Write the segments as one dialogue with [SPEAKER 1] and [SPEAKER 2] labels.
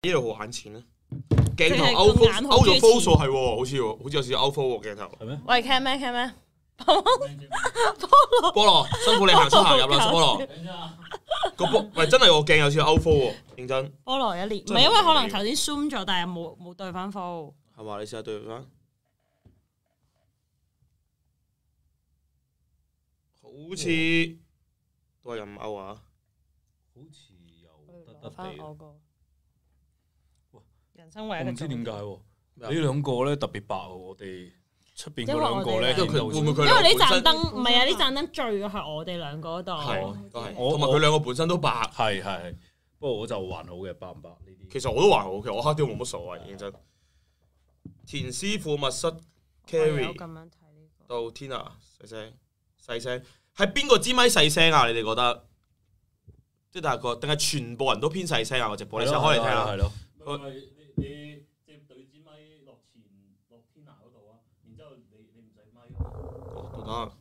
[SPEAKER 1] 呢度好眼前啊！鏡頭勾咗 full 數係喎，好似有少少勾 full 喎鏡頭。
[SPEAKER 2] 係咩？
[SPEAKER 3] 喂 ，can 咩 can 咩？
[SPEAKER 1] 菠蘿辛苦你行出行入啦，菠蘿。個菠喂真係個鏡有少少勾 full 喎，認真。
[SPEAKER 3] 菠蘿一年，唔係因為可能頭先 zoom 咗，但係冇對翻 full。
[SPEAKER 1] 係嘛？你試下對翻。好似都係咁勾啊！
[SPEAKER 2] 好似又得
[SPEAKER 3] 翻
[SPEAKER 2] 地。
[SPEAKER 3] 我個人生唯一
[SPEAKER 2] 我唔知點解
[SPEAKER 1] 喎，
[SPEAKER 2] 你兩個咧特別白喎，我哋出邊嗰兩個咧，
[SPEAKER 1] 因為佢會唔會佢
[SPEAKER 3] 因為呢盞燈唔係啊，呢盞燈最嘅係我哋兩個嗰度。
[SPEAKER 1] 係都係，同埋佢兩個本身都白。
[SPEAKER 2] 係，不過我就還好嘅，白唔白呢啲？
[SPEAKER 1] 其實我都還好，其實我黑啲冇乜所謂，認真。田師傅密室 carry
[SPEAKER 3] 咁樣睇呢個
[SPEAKER 1] 到 Tina 細聲，係邊個支咪細聲啊？你哋覺得？即係大概定係全部人都偏細聲啊？個直播你先開嚟聽下。
[SPEAKER 2] 係咯。你即係對支咪落Tina 嗰度啊，然之後你唔使咪。
[SPEAKER 1] 都得。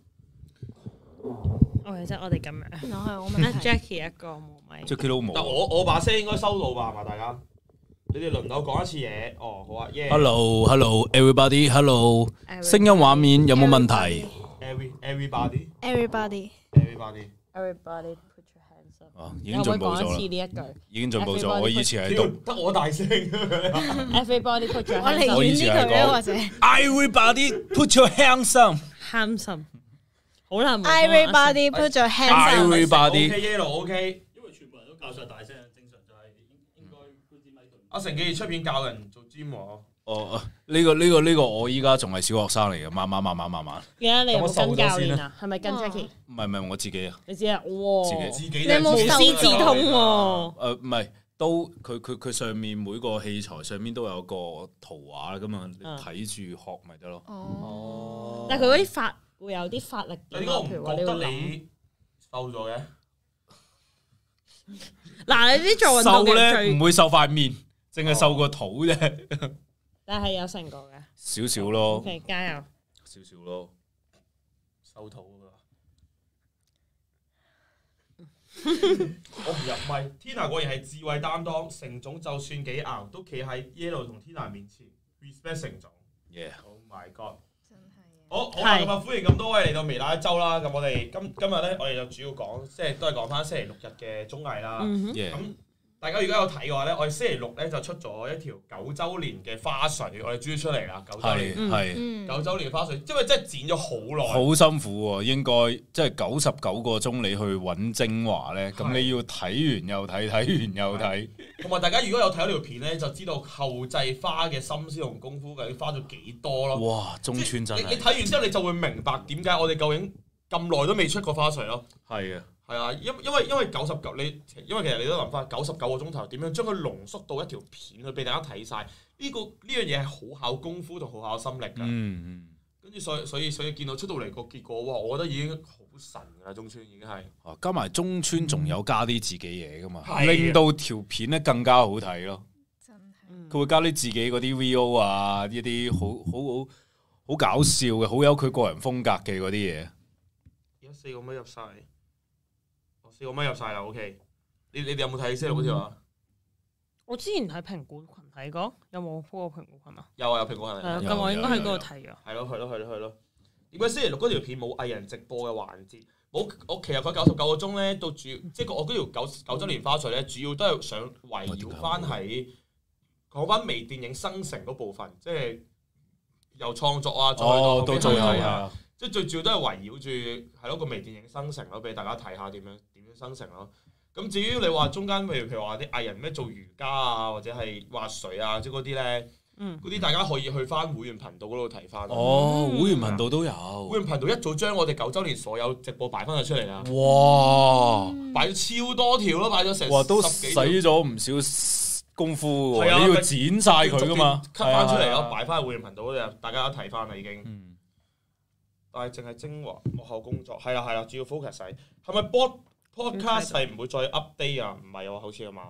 [SPEAKER 3] 其實我哋咁樣，我問 Jackie 一個冇咪。
[SPEAKER 2] Jackie 都冇。
[SPEAKER 1] 但我把聲應該收到吧？係嘛，大家？你哋輪流講一次嘢。哦，好啊。
[SPEAKER 2] Hello, everybody，Hello。聲音畫面有冇問題
[SPEAKER 1] ？Everybody。
[SPEAKER 3] Everybody put your hands up。
[SPEAKER 2] 哦，已經進步咗啦。
[SPEAKER 3] 呢一句
[SPEAKER 2] 已經進步咗。我以前係讀
[SPEAKER 1] 得我大聲。
[SPEAKER 3] Everybody put your hands up。
[SPEAKER 2] 我以前係講 Everybody put your hands up。
[SPEAKER 3] handsome。好難。
[SPEAKER 4] Everybody put your hands up。
[SPEAKER 2] Everybody。
[SPEAKER 1] OK yellow OK。
[SPEAKER 2] 因為全部人都教晒大聲，正常就係應該搬支咪對。
[SPEAKER 1] 阿成記出片教人做 gym 喎。
[SPEAKER 2] 哦，呢個我依家仲係小學生嚟嘅，慢慢。
[SPEAKER 3] 而家你有冇跟教練啊？係咪跟 Jackie？
[SPEAKER 2] 唔係我自己啊。
[SPEAKER 3] 你知啊？哇！
[SPEAKER 1] 自己
[SPEAKER 4] 你有冇
[SPEAKER 3] 無師自通喎？
[SPEAKER 2] 唔係，都佢上面每個器材上面都有個圖畫咁啊，你睇住學咪得咯。
[SPEAKER 4] 哦。
[SPEAKER 3] 但係佢嗰啲法會有啲法力嘅，
[SPEAKER 1] 點解我唔
[SPEAKER 3] 譬如話
[SPEAKER 1] 覺得
[SPEAKER 3] 你
[SPEAKER 1] 你瘦咗嘅？
[SPEAKER 3] 嗱，你啲做運動
[SPEAKER 2] 瘦咧
[SPEAKER 3] 嘅最
[SPEAKER 2] 唔會瘦塊面，淨係瘦個肚啫。
[SPEAKER 3] 但係有成果嘅，
[SPEAKER 2] 少少咯。
[SPEAKER 3] OK，加油！
[SPEAKER 2] 少少咯，
[SPEAKER 1] 瘦肚啊！我唔入咪 ，Tina 果然係智慧擔當，成總就算幾硬都企喺 Yellow 同 Tina 面前 ，respect 成總。Oh my god！
[SPEAKER 4] 真係
[SPEAKER 1] 好啦，咁啊歡迎咁多位嚟到微辣一周啦。咁我哋今日咧，我哋就主要講，即係都係講翻星期六日嘅綜藝啦。咁大家如果有睇嘅話咧，我哋星期六咧就出咗一條9週年嘅花絮，我哋終於出嚟啦！9週年
[SPEAKER 2] 係
[SPEAKER 1] 9週年嘅花絮，因為真係剪咗好耐，
[SPEAKER 2] 好辛苦喎。應該即係99個鐘你去揾精華咧，咁你要睇完又睇，睇完又睇。同
[SPEAKER 1] 埋大家如果有睇嗰條片咧，就知道後製花嘅心思同功夫究竟花咗幾多咯。
[SPEAKER 2] 哇！中村真係
[SPEAKER 1] 你睇完之後，你就會明白點解我哋究竟咁耐都未出過花絮咯。
[SPEAKER 2] 係啊。
[SPEAKER 1] 係啊，因為99因為其實你都諗翻99個鐘頭點樣將佢濃縮到一條片去俾大家睇晒，呢樣嘢係好考功夫同好考心力㗎。跟住所以見到出到嚟個結果，哇！我覺得已經好神㗎啦，中村已經係。
[SPEAKER 2] 加埋中村仲有加啲自己嘢㗎嘛，令到條片咧更加好睇咯。
[SPEAKER 4] 真係。
[SPEAKER 2] 佢會加啲自己嗰啲 VO 啊，呢啲好搞笑嘅，好有佢個人風格嘅嗰啲嘢。
[SPEAKER 1] 而家4個咪入晒。4個咪入晒啦 ，OK。你哋有冇睇星期六嗰條啊？
[SPEAKER 3] 我之前喺蘋果群睇過，有冇 po 過蘋果群啊？
[SPEAKER 1] 有蘋果群。
[SPEAKER 3] 咁我應該喺嗰度睇咗。
[SPEAKER 1] 係咯。點解星期六嗰條片冇藝人直播嘅環節？我其實佢99個鐘咧，到主要即係我嗰條9週年花絮咧，主要都係想圍繞翻喺講翻微電影生成嗰部分，即係由創作啊，再到最後啊。即係最主要都係圍繞住係咯個微電影生成咯，俾大家睇下點樣生成咯。咁至於你話中間譬如話啲藝人咩做瑜伽啊，或者係滑水啊，即係嗰啲咧，嗰啲大家可以去翻會員頻道嗰度睇翻。
[SPEAKER 2] 哦，會員頻道都有。
[SPEAKER 1] 會員頻道一早將我哋9週年所有直播擺翻咗出嚟啦。
[SPEAKER 2] 哇！
[SPEAKER 1] 擺咗超多條咯，擺咗成
[SPEAKER 2] 哇都使咗唔少功夫喎，你要剪晒佢噶嘛
[SPEAKER 1] ，cut 翻出嚟咯，擺翻喺會員頻道嗰度，大家都睇翻啦已經。但係淨係精華幕後工作係啦，主要 focus 係咪 podcast 係唔會再 update 啊？唔係喎，好似啊嘛，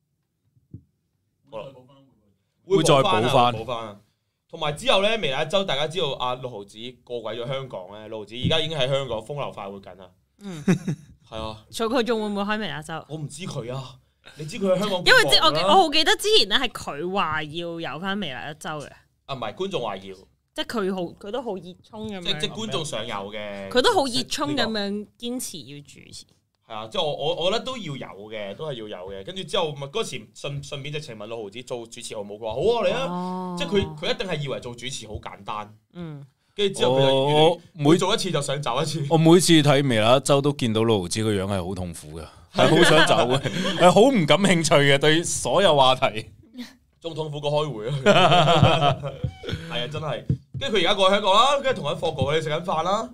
[SPEAKER 1] 會再補翻。同埋之後咧，微辣一周大家知道阿六毫子過鬼咗香港咧，六毫子而家已經喺香港風流快活緊啦。係啊，
[SPEAKER 3] 所以佢仲會唔會開微辣一周？
[SPEAKER 1] 我唔知佢啊， 你知佢喺香港，
[SPEAKER 3] 因為我好記得之前咧係佢話要有翻微辣一周嘅。
[SPEAKER 1] 啊，唔係觀眾話要，
[SPEAKER 3] 即係佢都好熱衷咁樣。
[SPEAKER 1] 即觀眾想有嘅，
[SPEAKER 3] 佢都好熱衷咁樣堅持要主持。
[SPEAKER 1] 係啊，即係我覺得都要有嘅，都係要有嘅。跟住之後咪嗰時順便直情問六毫子做主持好冇？佢話好啊，嚟啊！即係佢一定係以為做主持好簡單。跟住之後佢就每做一次就想走一次。
[SPEAKER 2] 我每次睇微辣一周都見到六毫子個樣係好痛苦嘅，係好想走嘅，係好唔感興趣嘅對所有話題。
[SPEAKER 1] 仲痛苦過開會啊！係啊，真係。跟住佢而家過去香港啦，跟住同緊霍哥佢哋食緊飯啦。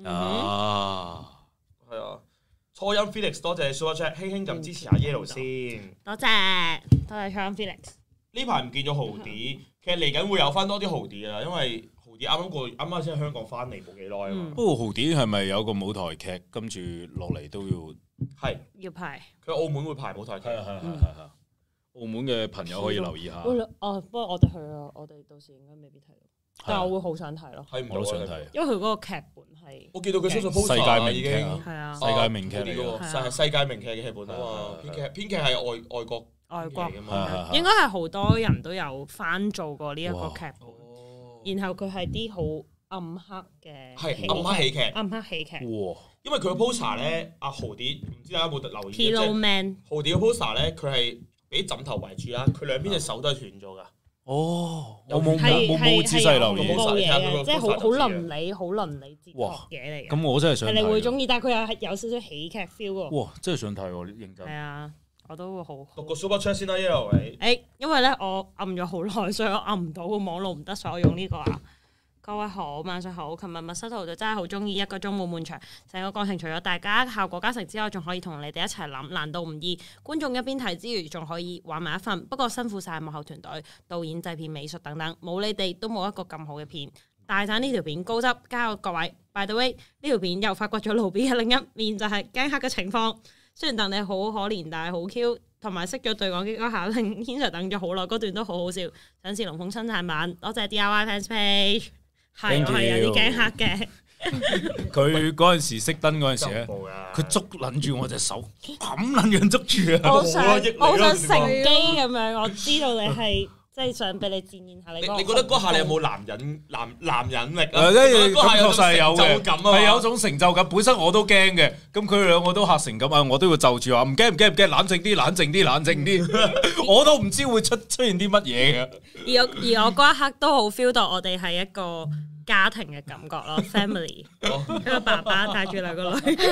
[SPEAKER 1] 係啊。初音 Felix 多謝 Super Chat， 輕輕咁支持下 Yellow 先。多謝
[SPEAKER 3] 初音 Felix。
[SPEAKER 1] 呢排唔見咗豪啲，其實嚟緊會有翻多啲豪啲噶啦，因為豪啲啱啱先喺香港翻嚟冇幾耐啊嘛。不
[SPEAKER 2] 過豪啲係咪有個舞台劇跟住落嚟都要
[SPEAKER 3] 要排？
[SPEAKER 1] 佢澳門會排舞台劇。
[SPEAKER 2] 係。澳門嘅朋友可以留意下。
[SPEAKER 3] 不過我哋去啊，我哋到時應該未必睇到。但係我會好想睇咯，
[SPEAKER 1] 我都想睇，
[SPEAKER 3] 因為佢嗰個劇本係
[SPEAKER 1] 我見到佢出咗 poster
[SPEAKER 2] 世界名劇
[SPEAKER 3] 係啊，
[SPEAKER 2] 世界名劇嚟嘅，
[SPEAKER 1] 係世界名劇嘅劇本啊嘛，編劇係外國
[SPEAKER 3] 嘅嘛，應該係好多人都有翻做過呢一個劇本，然後佢係啲好暗黑嘅
[SPEAKER 1] 暗黑喜劇，因為佢個 poster 咧，阿豪啲唔知大家有冇留意，即係豪啲嘅 poster 咧，佢係俾枕頭圍住啦，佢兩邊隻手都係斷咗噶。我冇仔細留意，
[SPEAKER 3] 即係好倫理哲學嘢嚟嘅。
[SPEAKER 2] 咁我真係想睇，
[SPEAKER 3] 你會中意，但係佢又係有少少喜劇 feel 喎。
[SPEAKER 2] 哇！真係想睇喎，認真。
[SPEAKER 3] 係啊，我都會好。
[SPEAKER 1] 讀個 Super Chat 先啦 ，Yellow 你。
[SPEAKER 3] 因為咧我按咗好耐，所以我按唔到個網絡唔得，所以我用呢個啊。各位好，晚上好。琴日密室圖就真係好中意，1個鐘冇悶場，成個過程除咗大家效果加成之外，仲可以同你哋一齊諗，難度唔易。觀眾一邊睇之餘，仲可以玩埋一份。不過辛苦晒幕後團隊、導演、製片、美術等等，冇你哋都冇一個咁好嘅片。大讚呢條片高質，加油各位。By the way， 呢條片又發掘咗盧 B 嘅另一面，就係驚黑嘅情況。雖然戥你好可憐，但係好 Q， 同埋識咗對講機嗰下令軒 Sir 等咗好耐，嗰段都好好笑。想試龍鳳新產版，多謝 DIY fans page。係，我係有啲驚黑嘅。
[SPEAKER 2] 佢嗰陣時熄燈嗰陣時咧，佢捉撚住我隻手，咁撚樣捉住啊！
[SPEAKER 3] 我想乘機咁樣，我知道你係即係想俾你展現下你。
[SPEAKER 1] 你覺得嗰下你有冇男人力啊？
[SPEAKER 2] 嗰下確實係有嘅，係有種成就感。本身我都驚嘅，咁佢哋兩個都嚇成咁啊！我都要就住話唔驚，冷靜啲，我都唔知會出現啲乜嘢嘅。
[SPEAKER 3] 而我嗰一刻都好 feel 到我哋係一個家庭嘅感覺咯 ，family， 一個爸爸帶住兩個女，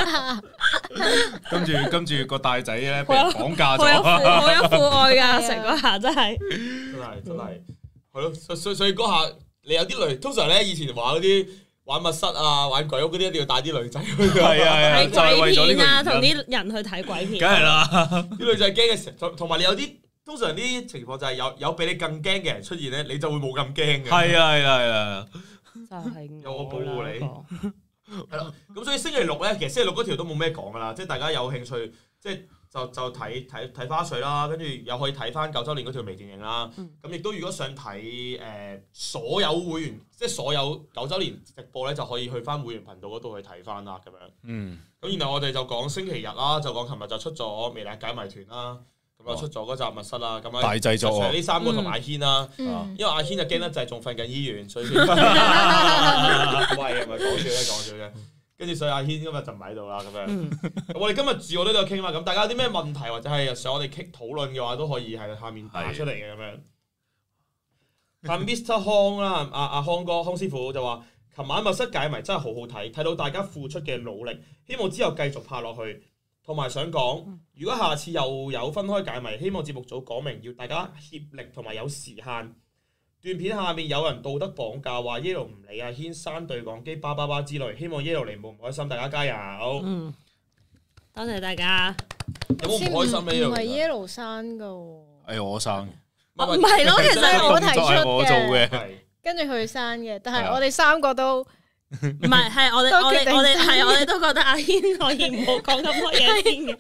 [SPEAKER 2] 跟住個大仔咧俾人綁架咗，
[SPEAKER 3] 好有父愛噶，成嗰下真係
[SPEAKER 1] 係咯，所以嗰下你有啲女，通常咧以前玩嗰啲玩密室啊、玩鬼屋嗰啲，一定要帶啲女仔去，
[SPEAKER 2] 係就係為咗呢個原因，
[SPEAKER 3] 同啲人去睇鬼片，
[SPEAKER 2] 梗係啦，
[SPEAKER 1] 啲女仔驚嘅時候，同埋你有啲。通常啲情況就係有比你更驚嘅人出現咧，你就會冇咁驚嘅。係
[SPEAKER 2] 啊，
[SPEAKER 3] 就係
[SPEAKER 1] 有我保護你。係咯，咁所以星期六咧，其實星期六嗰條都冇咩講噶啦，即係大家有興趣，即係就睇花絮啦，跟住又可以睇翻9週年嗰條微電影啦。咁亦都如果想睇所有會員，即係所有9週年直播咧，就可以去翻會員頻道嗰度去睇翻啦，咁樣。咁然後我哋就講星期日啦，就講琴日就出咗微辣解謎團啦。咁啊出咗嗰集密室啦，咁啊
[SPEAKER 2] 大製作啊！
[SPEAKER 1] 呢3個同阿軒啦，因為阿軒就驚得滯，仲瞓緊醫院，所以喂，唔係講笑啫。跟住所以阿軒今日就唔喺度啦，咁樣。咁我哋今日自我都有傾啦，咁大家有啲咩問題或者係想我哋討論嘅話，都可以喺下面打出嚟嘅咁樣。阿 Mr. 康啦，阿康哥康師傅就話：琴晚密室解謎真係好好睇，睇到大家付出嘅努力，希望之後繼續拍落去。同埋想講，如果下次又有分開解謎，希望節目組講明要大家協力同埋有時限。段片下面有人道德綁架，話 Yellow 唔理阿軒刪對講機叭叭叭之類，希望 Yellow 嚟冇唔開心，大家加油。
[SPEAKER 3] 多謝大家。
[SPEAKER 1] 有冇唔開心呢？
[SPEAKER 4] 唔係 Yellow 刪噶喎。
[SPEAKER 2] 我刪。
[SPEAKER 3] 唔係咯，其實
[SPEAKER 4] 係我提出
[SPEAKER 2] 我做嘅，
[SPEAKER 4] 跟住佢刪嘅，但係我哋3個都。
[SPEAKER 3] 唔係，係我哋都覺得阿軒可以唔好講咁多嘢先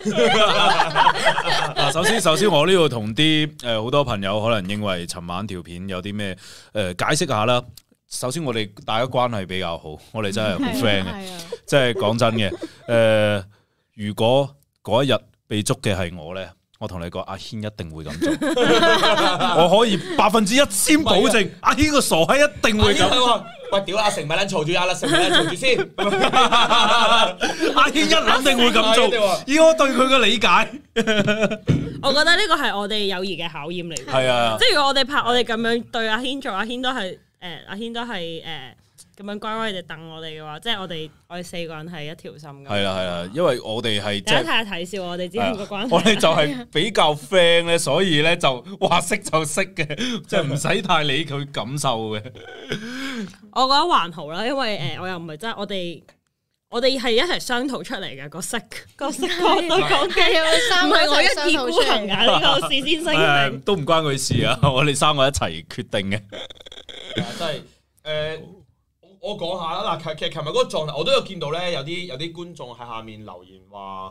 [SPEAKER 3] 嘅。
[SPEAKER 2] 首先我呢度同啲好多朋友可能認為尋晚條片有啲咩解釋下啦。首先我哋大家關係比較好，我哋真係好 friend 嘅，即係講真嘅。如果嗰一日被捉嘅係我咧， 我同你講，阿軒一定會咁做，我可以110%保證，阿軒個傻閪一定會咁。
[SPEAKER 1] 喂，屌阿成咪撚嘈住，阿成咪撚嘈住先。
[SPEAKER 2] 阿軒一諗定會咁做，以我對佢嘅理解，
[SPEAKER 3] 我覺得呢個係我哋友誼嘅考驗嚟嘅。
[SPEAKER 2] 係啊，
[SPEAKER 3] 即係如果我哋咁樣對阿軒做，阿軒都係咁樣乖乖地等我哋嘅話，即係我哋4個人係一條心嘅。
[SPEAKER 2] 係啦，因為我哋係
[SPEAKER 3] 大家睇下睇笑我哋之間嘅關係。
[SPEAKER 2] 我哋就係比較 friend 咧，所以咧就話識就識嘅，即係唔使太理佢感受嘅。
[SPEAKER 3] 我覺得還好啦，因為我又唔係真係我哋係一齊商討出嚟嘅個色角度講嘅，唔係我一意孤行㗎呢個事先聲明。
[SPEAKER 2] 都唔關佢事啊！我哋3個一齊決定嘅。
[SPEAKER 1] 真係我講下啦，嗱，其實琴日嗰個狀態，我都有見到咧，有啲觀眾喺下面留言話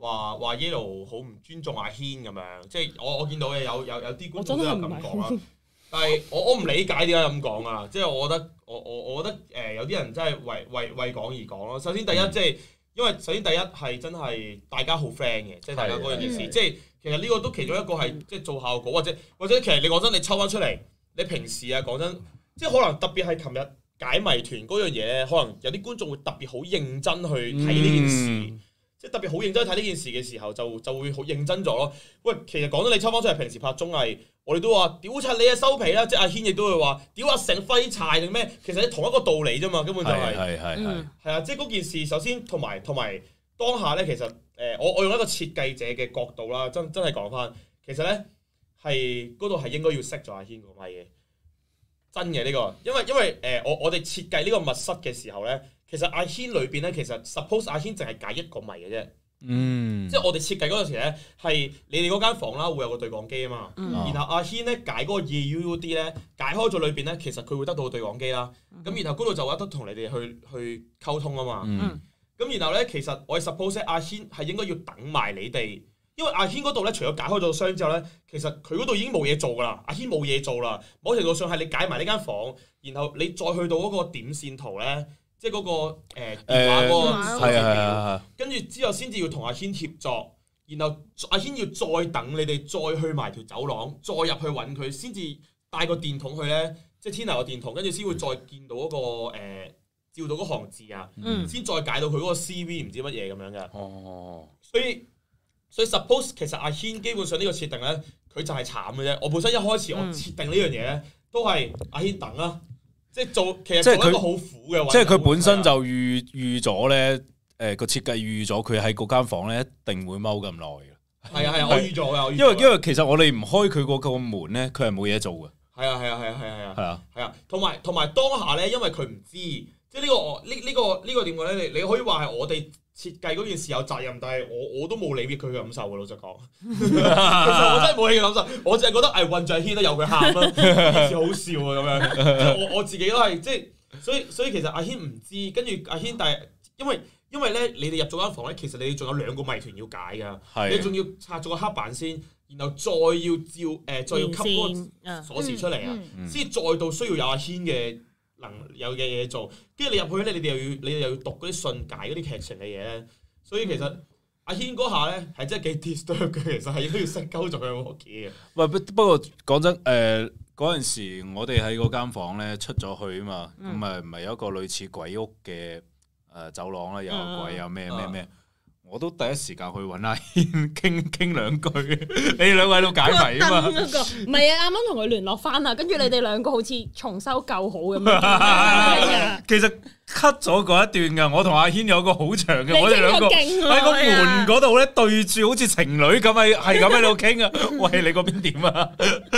[SPEAKER 1] Yellow 好唔尊重阿軒咁樣，即係我見到嘅有啲觀眾都有咁講啦。但係我唔理解點解咁講啊，即係我覺得有啲人真係為講而講咯。首先第一即係因為首先第一係真係大家好 friend 嘅，即係大家嗰樣嘢事，即係其實呢個都其中一個係即係做效果或者其實你講真，你抽翻出嚟，你平時啊講真，即係可能特別係琴日解謎團嗰樣嘢咧，可能有啲觀眾會特別好認真去睇呢件事，即係特別好認真去睇呢件事嘅時候，就會好認真咗咯。喂，其實講真，你抽翻出嚟，平時拍綜藝，我哋都話屌柒你啊收皮啦，即係阿軒亦都會話屌阿成廢柴定咩？其實係同一個道理啫嘛，根本就係係啊，即係嗰件事。首先同埋當下咧，其實我用一個設計者嘅角度啦，真係講翻，其實咧係嗰度係應該要熄咗阿軒個咪嘅。真嘅呢個，因為我哋設計呢個密室嘅時候咧，其實阿軒裏邊咧，其實 suppose 阿軒淨係解一個謎嘅啫。即係我哋設計嗰陣時咧，係你哋嗰間房啦，會有個對講機啊嘛。然後阿軒咧解嗰個 EUUD 咧，解開咗裏邊咧，其實佢會得到個對講機啦。咁然後嗰度就有得同你哋去溝通啊嘛。咁然後咧，其實我哋 suppose 阿軒係應該要等埋你哋。因為阿軒嗰度咧，除咗解開咗箱之後咧，其實佢嗰度已經冇嘢做噶啦。阿軒冇嘢做啦，某程度上係你解埋呢間房，然後你再去到嗰個點線圖咧，即係嗰個電話嗰個數字表，跟住之後先至要同阿軒協作，然後阿軒要再等你哋再去埋條走廊，再入去揾佢，先至帶個電筒去咧，即係天台個電筒，跟住先會再見到嗰個照到嗰行字啊，先再解到佢嗰個 CV 唔知乜嘢咁樣嘅。哦，所以 suppose 其實阿軒基本上呢個設定咧，佢就係慘嘅啫。我本身一開始我設定呢樣嘢咧，都係阿軒等啦，即係其實做一個好苦嘅。
[SPEAKER 2] 即係佢本身就預咗咧，個設計預咗佢喺嗰間房咧一定會踎咁耐嘅。
[SPEAKER 1] 係啊，我預咗嘅。
[SPEAKER 2] 因為其實我哋唔開佢嗰個門咧，佢係冇嘢做嘅。
[SPEAKER 1] 係啊，同埋當下咧，因為佢唔知，即係呢個點講咧？你可以話係我哋設計嗰件事有責任，但係我都冇理佢嘅感受嘅，老實講。其實我真係冇理佢感受，我淨係覺得混住軒都有佢喊啦，件事好笑啊咁樣。我自己都係即係，所以其實阿軒唔知，跟住阿軒但係因為咧，你哋入咗間房咧，其實你仲有2個謎團要解㗎，你仲要拆咗個黑板先，然後再要再要吸嗰個鎖匙出嚟啊，先再到需要有阿軒嘅有嘅嘢做，跟住你入去咧，你哋又要讀嗰啲信解嗰啲劇情嘅嘢咧，所以其實阿軒嗰下咧係真係幾 disturb 嘅，其實係都要識鳩咗佢屋企嘅。
[SPEAKER 2] 喂，不過講真，嗰陣時我哋喺嗰間房咧出咗去啊嘛，咁唔係有一個類似鬼屋嘅走廊啦，又有鬼又咩，我都第一時間去揾阿軒傾兩句，你哋兩位喺度解謎啊嘛？
[SPEAKER 3] 唔係啊，啱啱同佢聯絡翻啊，跟住你哋兩個好似重修舊好咁樣。
[SPEAKER 2] 其實 cut 咗嗰一段噶，我同阿軒有個好長嘅，我哋兩個喺個門嗰度咧對住，好似情侶咁係咁喺度傾啊。喂，你嗰邊點啊？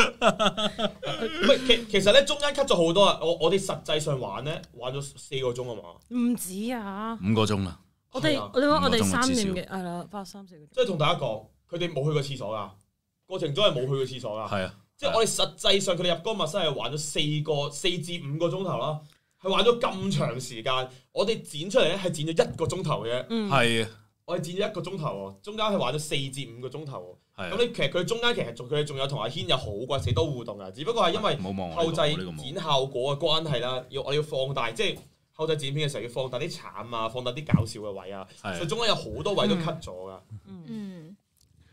[SPEAKER 1] 其實咧中間 cut 咗好多啊。我哋實際上玩咗4個鐘啊嘛？唔
[SPEAKER 3] 止啊
[SPEAKER 2] ，5個鐘啦。
[SPEAKER 3] 我哋3點嘅係啦，花3-4個鐘。
[SPEAKER 1] 即係同大家講，佢哋冇去過廁所噶，過程中係冇去過廁所噶。係啊，即係我哋實際上佢哋入嗰個密室係玩咗4至5個鐘頭啦，係玩咗咁長時間。我哋剪出嚟咧係剪咗1個鐘頭嘅。係啊，我哋剪咗1個鐘頭喎，中間係玩咗4至5個鐘頭喎。咁你其實佢中間佢哋仲有同阿軒有好鬼死多互動噶，只不過係因為後製剪效果嘅關係啦，我哋要放大即係。後製剪片嘅時候要放大啲慘啊，放大啲搞笑嘅位啊，所以中間有好多位都 cut 咗噶。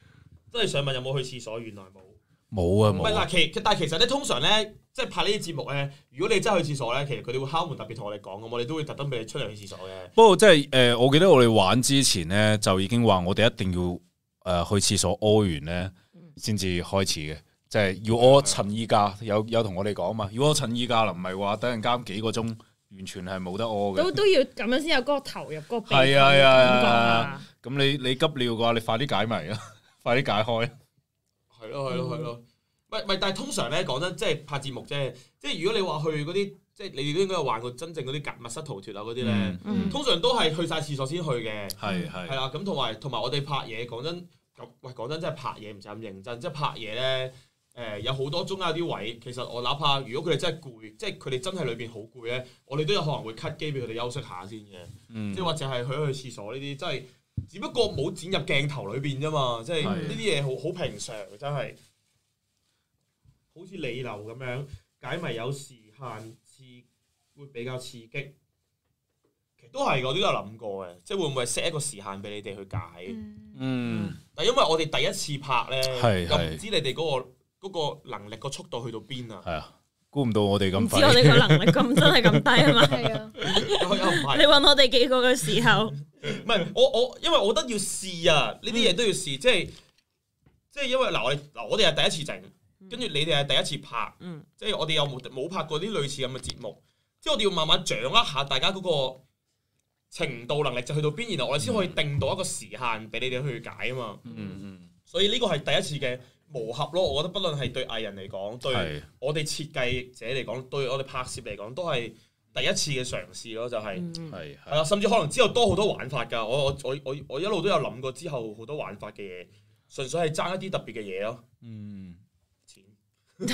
[SPEAKER 1] 真係想問有冇去廁所，原來冇。
[SPEAKER 2] 冇啊冇。
[SPEAKER 1] 唔係嗱，但係其實咧，通常咧，即係拍呢啲節目咧，如果你真係去廁所咧，其實佢哋會敲門特別同我哋講咁，我哋都會特登俾你出嚟去廁所嘅。
[SPEAKER 2] 不過即係我記得我哋玩之前咧，就已經話我哋一定要去廁所屙完咧，先至開始嘅。即係要屙趁依家，有同我哋講嘛，要屙趁依家啦，唔係話等陣間幾個鐘完全係冇得屙嘅。
[SPEAKER 3] 都要咁樣先有嗰個投入嗰個鼻
[SPEAKER 2] 係啊，咁你急尿嘅話，你快啲解謎啦，快啲解開。
[SPEAKER 1] 係咯，但係通常咧講真，即係拍節目啫。即係如果你話去嗰啲，即係你都應該有玩過真正嗰啲密室逃脫啊嗰啲咧，通常都係去晒廁所先去嘅。係啦，咁同埋我哋拍嘢，講真真係拍嘢唔使咁認真，即係拍嘢咧。有好多中間有啲位，其實我哪怕如果佢哋真係攰，即係佢哋真係裏邊好攰咧，我哋都有可能會 cut 機俾佢哋休息下先嘅。即係或者係去廁所呢啲，真係只不過冇剪入鏡頭裏邊啫嘛。即係呢啲嘢好平常，真係好似理流咁樣解謎有時限會比較刺激。其實都係我都有諗過嘅，即係會唔會 set 一個時限俾你哋去解？但係因為我哋第一次拍咧，又唔知你哋嗰個能力個速度去到邊啊？係啊，
[SPEAKER 2] 估唔到我哋咁快。
[SPEAKER 3] 唔知我哋個能力咁真係咁低啊嘛？
[SPEAKER 4] 係啊，
[SPEAKER 3] 你揾我哋幾個嘅時候，
[SPEAKER 1] 唔係我，因為我覺得要試啊，呢啲嘢都要試，即係因為我哋係第一次整，跟住你哋係第一次拍，即係我哋又冇拍過啲類似咁嘅節目，即係我哋要慢慢掌握下大家嗰個程度能力就去到邊，然後我哋先可以定到一個時限俾你哋去解啊嘛。所以呢個係第一次嘅磨合咯，我覺得不論係對藝人嚟講，對我哋設計者嚟講，對我哋拍攝嚟講，都係第一次嘅嘗試咯，就係係啦，甚至可能之後多好多玩法㗎。我一路都有諗過之後好多玩法嘅嘢，純粹係爭一啲特別嘅嘢咯。錢，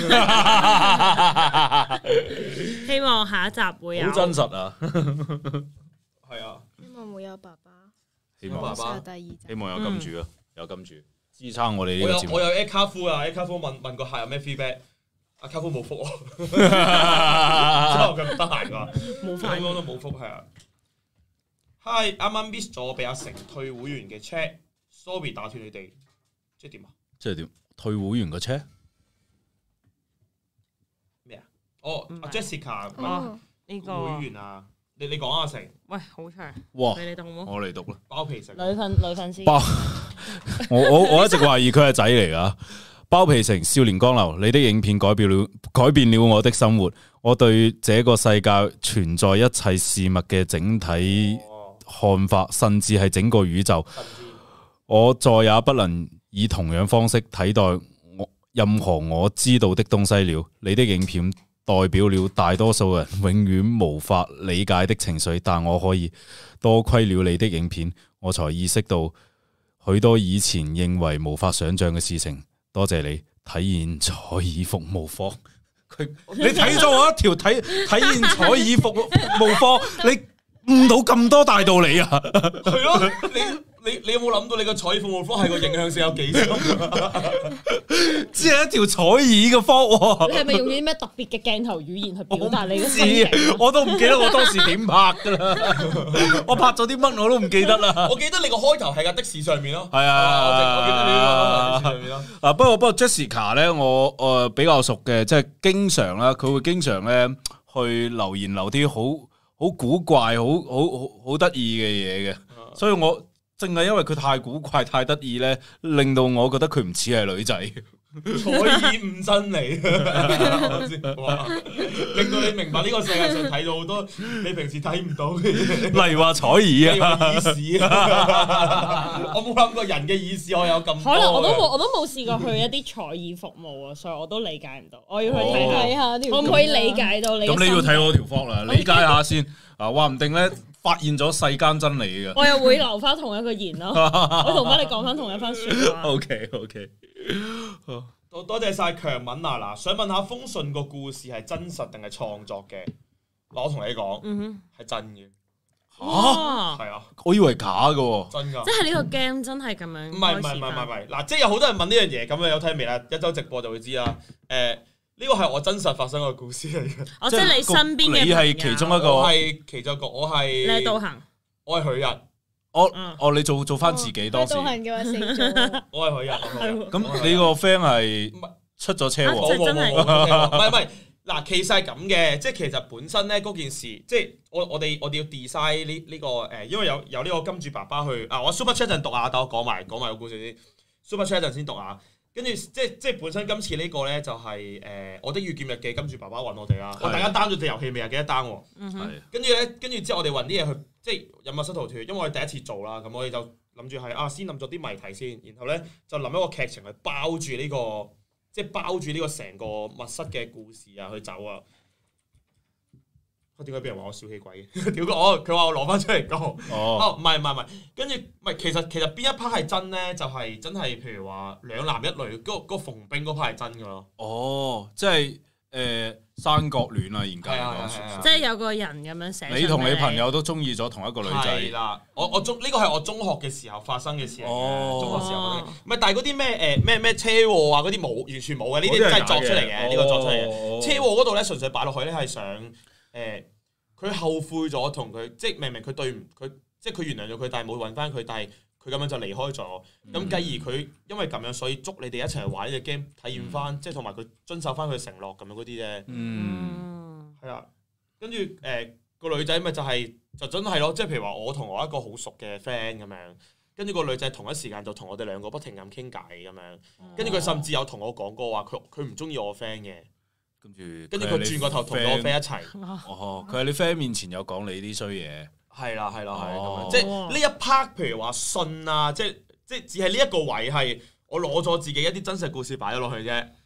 [SPEAKER 3] 希望下一集會有
[SPEAKER 2] 好真實啊！
[SPEAKER 1] 係啊，
[SPEAKER 4] 希望會有爸爸，
[SPEAKER 2] 希望
[SPEAKER 4] 爸爸第二集，
[SPEAKER 2] 希望有金主啊，有金主。支撐我哋呢個節目。
[SPEAKER 1] 我有 A 卡夫啊，A 卡夫問個客有咩 feedback， 阿卡夫冇覆我，之後佢唔得閒㗎，冇覆，都冇覆係啊。Hi， 啱啱 miss 咗俾阿成退會員嘅 check，sorry 打斷你哋，即係點啊？
[SPEAKER 2] 即係點？退會員個 check
[SPEAKER 1] 咩啊？阿 Jessica
[SPEAKER 3] 呢個
[SPEAKER 1] 會員啊。你講阿成，
[SPEAKER 3] 喂，好長，
[SPEAKER 2] 哇！
[SPEAKER 3] 你嚟讀好冇？
[SPEAKER 2] 我嚟讀啦。
[SPEAKER 1] 包皮成
[SPEAKER 3] 女粉絲，
[SPEAKER 2] 我一直懷疑佢係仔嚟噶。包皮成少年江流，你的影片改變了我的生活。我對這個世界存在一切事物嘅整體看法，甚至係整個宇宙。我再也不能以同樣方式睇待任何我知道的東西了。你的影片代表了大多數人永遠無法理解的情緒，但我可以多虧了你的影片，我才意識到許多以前認為無法想象嘅事情。多謝你體現彩耳服務科。你睇咗我一條體現彩耳服務科，你悟到咁多大道理啊？
[SPEAKER 1] 係咯，你有冇諗到你個彩耳服務科係個影響性有幾深？
[SPEAKER 2] 只係一條彩耳嘅科。
[SPEAKER 3] 你係咪用啲咩特別嘅鏡頭語言去表達你嘅心情？
[SPEAKER 2] 我都唔記得我當時點拍噶啦，我拍咗啲乜我都唔記得啦。
[SPEAKER 1] 我記得你個開頭係架的士上面咯。
[SPEAKER 2] 係啊，
[SPEAKER 1] 我記得你個的士上面咯。
[SPEAKER 2] 不過 Jessica 咧，我比較熟嘅，即係經常啦，佢會經常咧去留言留啲好古怪、好得意嘅嘢嘅，所以我正係因為佢太古怪、太得意咧，令到我覺得佢唔似係女仔。
[SPEAKER 1] 彩耳誤真理，哇！令到你明白呢個世界上睇到好多你平時睇唔到嘅嘢，
[SPEAKER 2] 例如話彩耳啊，
[SPEAKER 1] 耳屎啊！我冇諗過人嘅耳屎我有咁多。
[SPEAKER 3] 可能我都冇試過去一啲彩耳服務啊，所以我都理解唔到。我要去睇下條，可唔可以理解到你？
[SPEAKER 2] 咁你要睇我條 vlog 啦，理解下先。啊，話唔定咧發現咗世間真理嘅。
[SPEAKER 3] 我又會留翻同一個言咯，我同翻你講翻同一番說話。
[SPEAKER 2] OK，
[SPEAKER 1] 多謝晒強敏嗱，想問下風順個故事係真實定係創作嘅？我同你講，係真嘅。
[SPEAKER 2] 嚇，
[SPEAKER 1] 係啊，
[SPEAKER 2] 我以為假嘅。
[SPEAKER 1] 真㗎。
[SPEAKER 3] 即係呢個 game 真係咁樣。唔
[SPEAKER 1] 係，嗱，即係有好多人問呢樣嘢，咁你有睇未啦？一週直播就會知啦。呢個係我真實發生嘅故事嚟嘅。
[SPEAKER 3] 哦，即係你身邊嘅朋友。
[SPEAKER 2] 你係其中一個。
[SPEAKER 1] 我係其中一個，我係。
[SPEAKER 3] 你係道行。
[SPEAKER 1] 我係許日。
[SPEAKER 2] 你做翻自己當時。
[SPEAKER 4] 導行嘅話死咗。
[SPEAKER 1] 我係可以啊。
[SPEAKER 2] 咁你個 friend 係出咗車禍？
[SPEAKER 1] 唔係。嗱，其實係咁嘅，即係其實本身咧嗰件事，即係我哋要 design 呢個因為有呢個金主爸爸去我 super chat 陣讀下，等我講埋個故事先。super chat 陣先讀下，跟住即係本身今次呢個咧就係我的遇劍日記金主爸爸揾我哋啦。大家 down 咗隻遊戲未啊？記得 down 喎。跟住之後我哋揾啲嘢去，即係引密室逃脫，因為我哋第一次做啦，咁我哋就諗住係先諗咗啲謎題先，然後咧就諗一個劇情去包住呢個。即係包住呢個成個密室嘅故事啊，去走啊！點解俾人話我小氣鬼嘅？屌佢話我攞翻出嚟講。唔係，跟住唔係其實邊一 part 係真咧？就係真係譬如話兩男一女嗰個馮冰嗰 part 係真㗎咯。
[SPEAKER 2] 即係三角戀啊，研究嚟講，
[SPEAKER 3] 即係有個人咁樣寫。
[SPEAKER 2] 你同你朋友都中意咗同一個女仔。
[SPEAKER 1] 係啦，呢個係我中學嘅時候發生嘅事嚟嘅。中學時候唔係，但係嗰啲咩車禍啊嗰啲冇，完全冇嘅，呢啲真係作出嚟嘅。呢個作出嚟嘅車禍嗰度咧，純粹擺落去咧係想佢後悔咗同佢，即係明明佢對唔佢，即係佢原諒咗佢，但係冇揾翻佢，但係佢咁樣就離開咗。咁繼而佢因為咁樣，所以捉你哋一齊去玩呢隻 game，體驗翻，即係同埋佢遵守翻佢承諾咁樣嗰啲啫。係啊，跟住個女仔咪就真係咯，即係譬如話我同我一個好熟嘅 friend 咁樣，跟住個女仔同一時間就同我哋兩個不停咁傾偈咁樣，跟住佢甚至有同我講過話佢唔中意我 friend 嘅。跟住佢轉個頭同我 friend 一齊。
[SPEAKER 2] 佢喺你 friend 面前有講你啲衰嘢。
[SPEAKER 1] 係啦，咁樣，即係呢一 part，譬如話信啊，即係只係呢一個位係我攞咗自己一啲真實故事擺咗落去啫。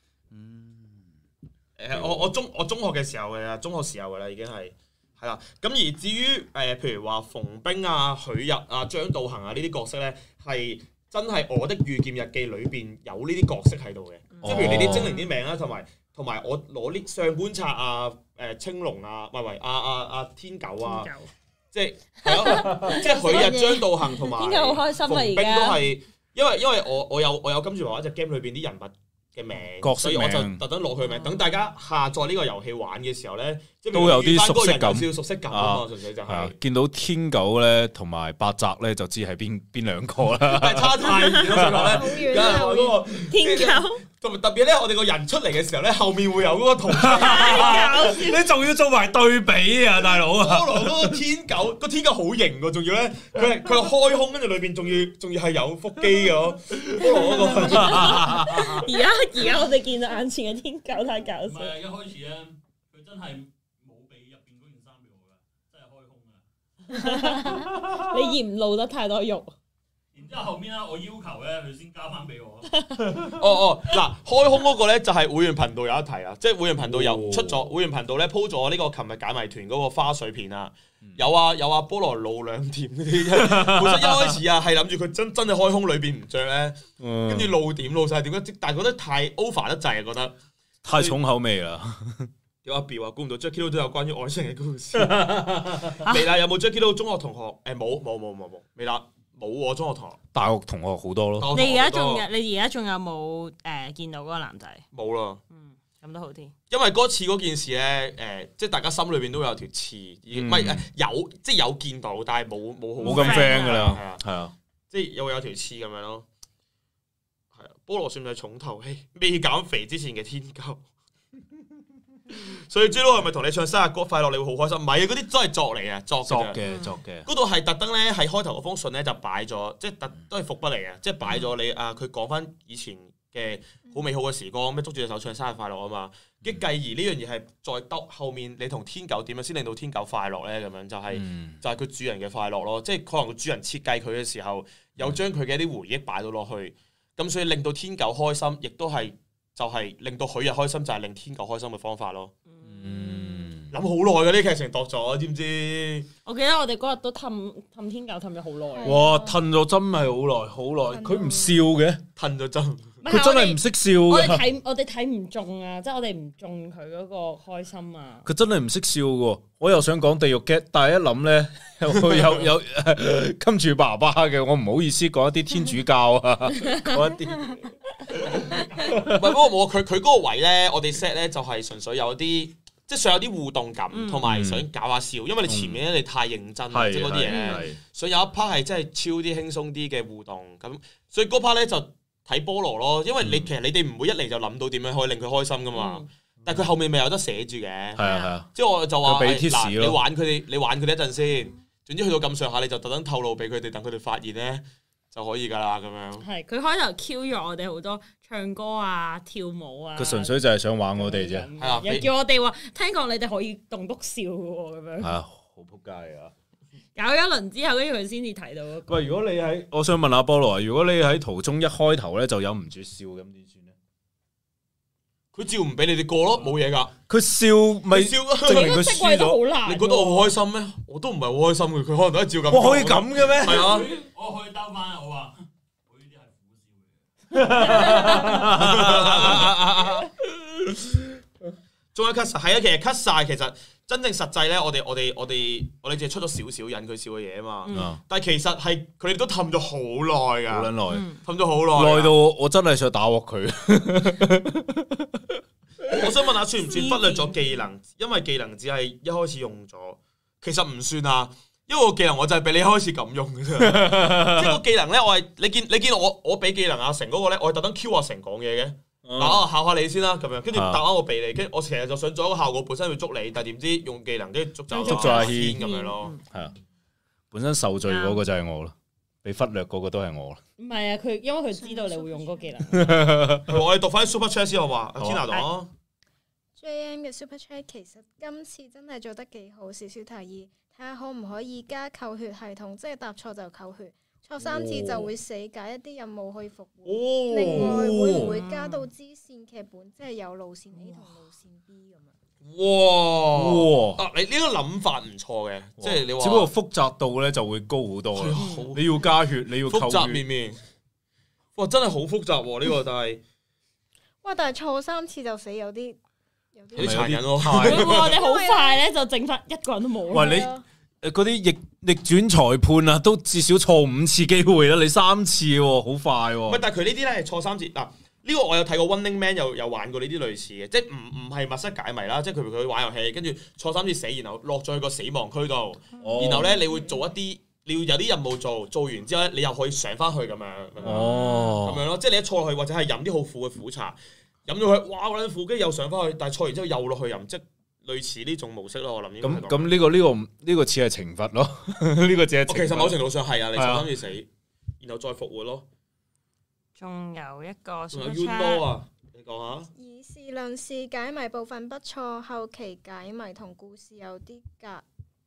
[SPEAKER 1] 我中學嘅時候嘅啦，中學時候嘅啦，已經係啦。咁而至於譬如話馮冰啊、許日啊、張道行啊呢啲角色咧，係真係我的遇劍日記裏邊有呢啲角色喺度嘅，即係譬如你啲精靈啲名啦，同埋我攞啲上官策啊、青龍啊，阿天狗啊，即係即係許日、張道行同埋
[SPEAKER 3] 天狗好開心啊！
[SPEAKER 1] 馮冰都係，因為我有跟住話一隻 game 裏邊啲人物嘅名，所以我就特登攞佢名，等大家下載呢個遊戲玩嘅時候咧，
[SPEAKER 2] 都有啲熟悉感，
[SPEAKER 1] 少少熟悉感啊嘛，純粹就係
[SPEAKER 2] 見到天狗咧同埋八澤咧，就知係邊兩個啦。
[SPEAKER 1] 差太遠啦，上咧，嗰個
[SPEAKER 3] 天狗。
[SPEAKER 1] 同埋特別咧，我哋個人出嚟嘅時候咧，後面會有嗰個圖像，
[SPEAKER 2] 你仲要做埋對比啊，大佬啊！
[SPEAKER 1] 菠蘿嗰個天狗，個天狗好型喎，仲要咧，佢開胸，跟住裏邊仲要係有腹肌嘅咯。菠蘿嗰個。
[SPEAKER 3] 而家我哋見到眼前嘅天狗太搞笑。
[SPEAKER 5] 唔係一開始咧，佢真係冇俾入邊嗰件衫俾我㗎，真係開胸啊！
[SPEAKER 3] 你嫌露得太多肉。
[SPEAKER 5] 然之後後面咧，我要求咧，佢先交翻俾我。
[SPEAKER 1] 嗱，開胸嗰個咧就係會員頻道有一題啊，即係會員頻道又出咗，會員頻道咧鋪咗呢個琴日解謎團嗰個花絮片啊，有啊菠蘿露兩點嗰啲，本身一開始啊係諗住佢真係開胸裏邊唔着咧，跟住露點露晒點，但係覺得太 over 得滯啊，覺得
[SPEAKER 2] 太重口味啦。
[SPEAKER 1] 有阿表啊，估唔到 Jacky Lou 都有關於愛情嘅故事。未啦，有冇 Jacky Lou 中學同學？冇，未啦。冇喎，中學同學，大學同學好多咯。
[SPEAKER 3] 你而家仲有冇見到嗰個男仔？
[SPEAKER 1] 冇啦。
[SPEAKER 3] 咁都好啲。
[SPEAKER 1] 因為嗰次嗰件事咧，即係大家心裏邊都有條刺，唔係有即係有見到，但係冇
[SPEAKER 2] 咁 friend 㗎啦。係啊，
[SPEAKER 1] 即係有條刺咁樣咯。係啊，菠蘿算唔算重頭戲？未減肥之前嘅天狗。所以 J Lo 係咪同你唱生日歌快樂你會好開心？唔係啊，嗰啲真係作嚟嘅，作嘅。嗰度係特登咧，喺開頭嗰封信咧就擺咗，即係都係伏筆嚟嘅，即係擺咗你佢講翻以前嘅好美好嘅時光，咩捉住隻手唱生日快樂啊嘛。跟繼而呢樣嘢係再兜後面，你同天狗點樣先令到天狗快樂咧？咁樣就係佢主人嘅快樂咯。即係可能個主人設計佢嘅時候，有將佢嘅一啲回憶擺到落去，咁所以令到天狗開心，亦都係。就係令到許日開心，就係令天狗開心嘅方法咯。諗好耐嘅呢劇情度咗，知唔知？我記得我哋嗰日都氹天狗氹咗好耐。哇！氹咗真係好耐，佢唔笑嘅，氹咗真。佢真係唔識笑嘅。我哋睇唔中啊，即係我哋唔中佢嗰個開心啊。佢真係唔識笑嘅，我又想講地獄 get，但係一諗咧，有跟住爸爸嘅，我唔好意思講一啲天主教啊，講一啲。唔係，不過佢嗰個位咧，我哋 set 咧就係純粹有啲即係想有啲互動感，同埋想搞下笑，因為你前面咧你太認真，即係嗰啲嘢，所以有一 part 係真係超啲輕鬆啲嘅互動，咁所以嗰 part 咧就睇菠蘿咯，因為其實你哋唔會一嚟就諗到點樣可以令佢開心噶嘛，但係佢後面咪有得寫住嘅，即係我就話嗱，你玩佢哋一陣先，總之去到咁上下你就特登透露俾佢哋，等佢哋發現咧。就可以㗎啦，咁樣。係
[SPEAKER 3] 佢開頭 Q 咗我哋好多唱歌啊、跳舞啊。
[SPEAKER 2] 佢純粹就係想玩我哋啫。
[SPEAKER 1] 係啊，
[SPEAKER 3] 又叫我哋話聽講你哋可以棟篤笑嘅喎，咁樣。係啊，
[SPEAKER 2] 好撲街啊！
[SPEAKER 3] 搞一輪之後，跟住佢先至睇到。
[SPEAKER 2] 喂，如果你喺，我想問下菠蘿啊，如果你喺途中一開頭咧就忍唔住笑，咁點算咧？
[SPEAKER 1] 佢照唔俾你哋過咯，冇嘢㗎。
[SPEAKER 2] 佢笑咪笑，證明佢輸咗。
[SPEAKER 1] 你覺得我好開心咩？我都唔係好開心嘅，佢可能都係照咁。
[SPEAKER 2] 哇，可以咁嘅咩？
[SPEAKER 1] 係啊，
[SPEAKER 5] 我可以兜翻，我話我呢啲係苦笑嘅。
[SPEAKER 1] 仲有 cut 晒，係啊，其實 cut 晒，其實真正實際咧，我哋淨係出咗少少引佢笑嘅嘢啊嘛。但係其實係佢哋都氹咗好耐㗎，好撚耐，氹咗好耐，
[SPEAKER 2] 耐到我真係想打鑊佢。
[SPEAKER 1] 我想問下，算唔算忽略咗技能？因為技能只係一開始用咗，其實唔算啊。因為個技能我就係俾你一開始咁用嘅啫。即係個技能咧，我係你見我俾技能阿成嗰個咧，我係特登 Q 阿成講嘢嘅。嗱，我考下你先啦，咁樣跟住答啱我俾你，跟住我其實就想做一個效果，本身要捉你，但係點知用技能跟住捉咗阿軒咁樣咯。係啊，
[SPEAKER 2] 本身受罪嗰個就係我啦，被忽略嗰個都係我啦。
[SPEAKER 3] 唔係啊，佢因為佢知道你會用嗰個技能。
[SPEAKER 1] 我哋讀翻 Super Chat 先好嘛？阿 Tina 講。
[SPEAKER 4] JM 嘅 Super Chat 其實今次真係做得幾好，少少提議，睇下可唔可以加扣血系統，即係答錯就扣血。錯3次就會死，解一啲任務可以復活。另外會唔會加到支線劇本，即係有路線 A 同路線 B 咁樣？
[SPEAKER 1] 哇！你呢個諗法唔錯嘅，即係你話。
[SPEAKER 2] 只不過複雜度咧就會高好多。你要加血，你要扣血。
[SPEAKER 1] 複雜面。哇！真係好複雜喎，呢個但係。
[SPEAKER 4] 哇！但係錯3次就死，有啲
[SPEAKER 1] 殘忍喎。
[SPEAKER 3] 我哋好快咧就剩翻一個人都冇。
[SPEAKER 2] 喂，你嗰啲逆轉裁判啊，都至少錯5次機會啦，你3次喎，好快喎。
[SPEAKER 1] 唔係，但係佢呢啲咧係錯3次嗱。呢個我有睇過 Running Man 有玩過呢啲類似嘅，即係唔係密室解謎啦，即係佢玩遊戲，跟住錯3次死，然後落咗去個死亡區度，然後咧你會做一啲，你要有啲任務做完之後咧，你又可以上翻去咁樣，咁樣咯，即係你一錯落去或者係飲啲好苦嘅苦茶，飲咗佢，哇好撚苦，跟住又上翻去，但係錯完之後又落去飲，即係類似呢種模式咯，我諗應該係咁。
[SPEAKER 2] 咁呢個似係懲罰咯，呢個只係。
[SPEAKER 1] 其實某程度上係啊，你錯3次死，然後再復活咯。
[SPEAKER 3] 仲有一個，
[SPEAKER 1] 仲有 Uno 啊，你講下。
[SPEAKER 4] 以事論事，解謎部分不錯，後期解謎同故事有啲隔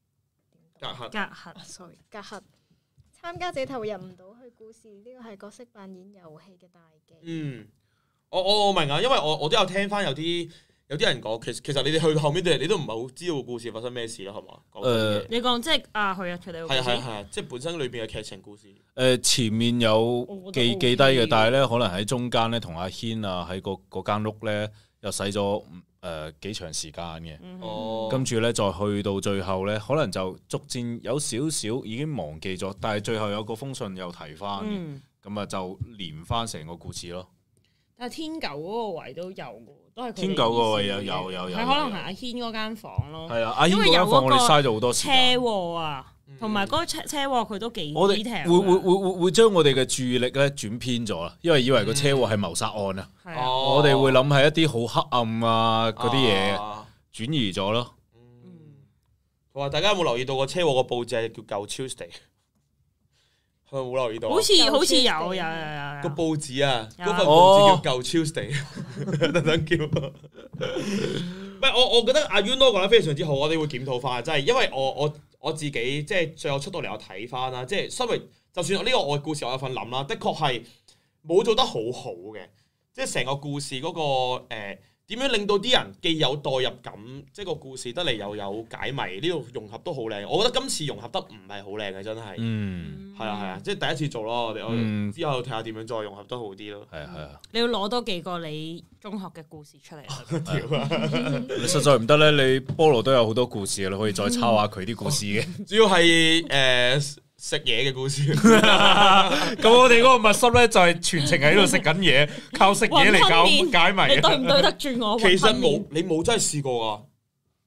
[SPEAKER 4] 閡。隔閡。參加者投入唔到去故事，呢個係角色扮演遊戲嘅大忌。
[SPEAKER 1] 我明啊，因為我都有聽翻有啲人講，其實你哋去到後面你都唔係好知道個故事發生咩事啦，係嘛？
[SPEAKER 3] 你講即係佢出嚟。
[SPEAKER 1] 係，即係本身裏邊嘅劇情故事。
[SPEAKER 2] 前面有記低嘅，但係咧可能喺中間咧同阿軒啊喺嗰間屋咧又使咗幾長時間嘅。跟住咧再去到最後咧，可能就逐漸有少少已經忘記咗，但係最後有個封信又提翻，咁啊就連翻成個故事咯。
[SPEAKER 3] 但係天九嗰個位都有嘅，都係
[SPEAKER 2] 天九嗰個位有，係
[SPEAKER 3] 可能係阿軒嗰間房咯。
[SPEAKER 2] 係啊，阿軒嗰間房我哋嘥咗好多時間。
[SPEAKER 3] 車禍啊，同埋嗰個車禍佢都幾 detail。
[SPEAKER 2] 我哋會將我哋嘅注意力咧轉偏咗啦，因為以為個車禍係謀殺案啊。我哋會諗係一啲好黑暗啊嗰啲嘢轉移咗咯。
[SPEAKER 1] 同埋大家有冇留意到個車禍個報紙係叫舊 Tuesday？佢冇留意到，
[SPEAKER 3] 好似有個
[SPEAKER 1] 報紙啊，嗰份報紙叫舊 Tuesday， 特登叫。唔係我覺得阿 Uno 講得非常之好，我哋會檢討翻，真係因為我自己即係最後出到嚟我睇翻啦，即係身為就算呢個我嘅故事我有份諗啦，的確係冇做得好好嘅，即係成個故事嗰個點樣令到啲人既有代入感，即係個故事得嚟又有解謎，呢個融合都好靚。我覺得今次融合得唔係好靚嘅，真係。係啊，即係第一次做咯。我哋之後睇下點樣再融合得好啲咯。係啊。
[SPEAKER 3] 你要攞多幾個你中學嘅故事出嚟。
[SPEAKER 2] 你實在唔得咧，你菠蘿都有好多故事，你可以再抄下佢啲故事嘅。
[SPEAKER 1] 主要係食嘢嘅故事，
[SPEAKER 2] 咁我哋嗰個密室咧就係全程喺度食緊嘢，靠食嘢嚟搞解謎。
[SPEAKER 3] 你對唔對得住我？
[SPEAKER 1] 其實你冇真係試過噶，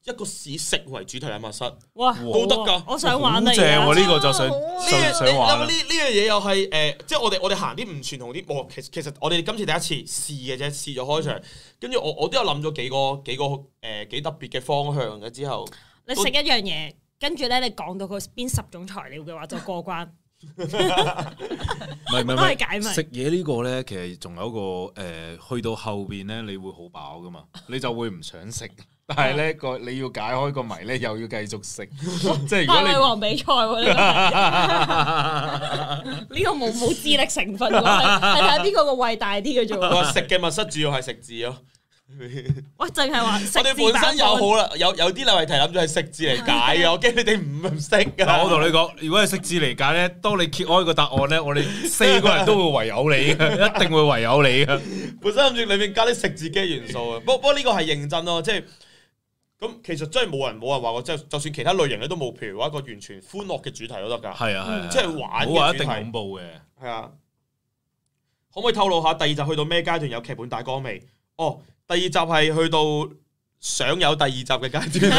[SPEAKER 1] 一個以食為主題嘅密室，
[SPEAKER 3] 哇，
[SPEAKER 1] 都得㗎，
[SPEAKER 3] 我想玩啊！
[SPEAKER 2] 正喎，呢個就想玩啦。
[SPEAKER 1] 呢樣嘢又係即係我哋行啲唔傳統啲，其實我哋今次第一次試嘅啫，試咗開場，跟住我都有諗咗幾個幾特別嘅方向嘅之後，
[SPEAKER 3] 你食一樣嘢，跟住咧你講到佢邊10種材料嘅話就過關。
[SPEAKER 2] 唔係
[SPEAKER 3] 解謎
[SPEAKER 2] 食嘢呢個咧，其實仲有一個去到後邊咧，你會好飽噶嘛，你就會唔想食。但係咧你要解開個謎咧，又要繼續食。即係如果你
[SPEAKER 3] 大胃王比賽喎，呢個冇智力成分喎，係睇下邊個胃大啲嘅啫喎。
[SPEAKER 1] 食嘅密室主要係食字咯。
[SPEAKER 3] 喂，淨係話食字。
[SPEAKER 1] 我哋本身有好啦，有啲例題諗住係食字嚟解嘅，我驚你哋唔識㗎。
[SPEAKER 2] 我同你講，如果係食字嚟解咧，當你揭開個答案咧，我哋4個人都會唯有你嘅，一定會唯有你嘅。
[SPEAKER 1] 本身諗住裏面加啲食字嘅元素啊，不過呢個係認真咯，即係咁其實真係冇人話過，即係就算其他類型咧都冇，譬如話一個完全歡樂嘅主題都得㗎。
[SPEAKER 2] 係啊，
[SPEAKER 1] 即係玩嘅主題。
[SPEAKER 2] 冇話一定恐怖嘅。係
[SPEAKER 1] 啊，可唔可以透露下第2集去到咩階段有劇本大綱未？哦。第2集係去到想有第2集嘅階段，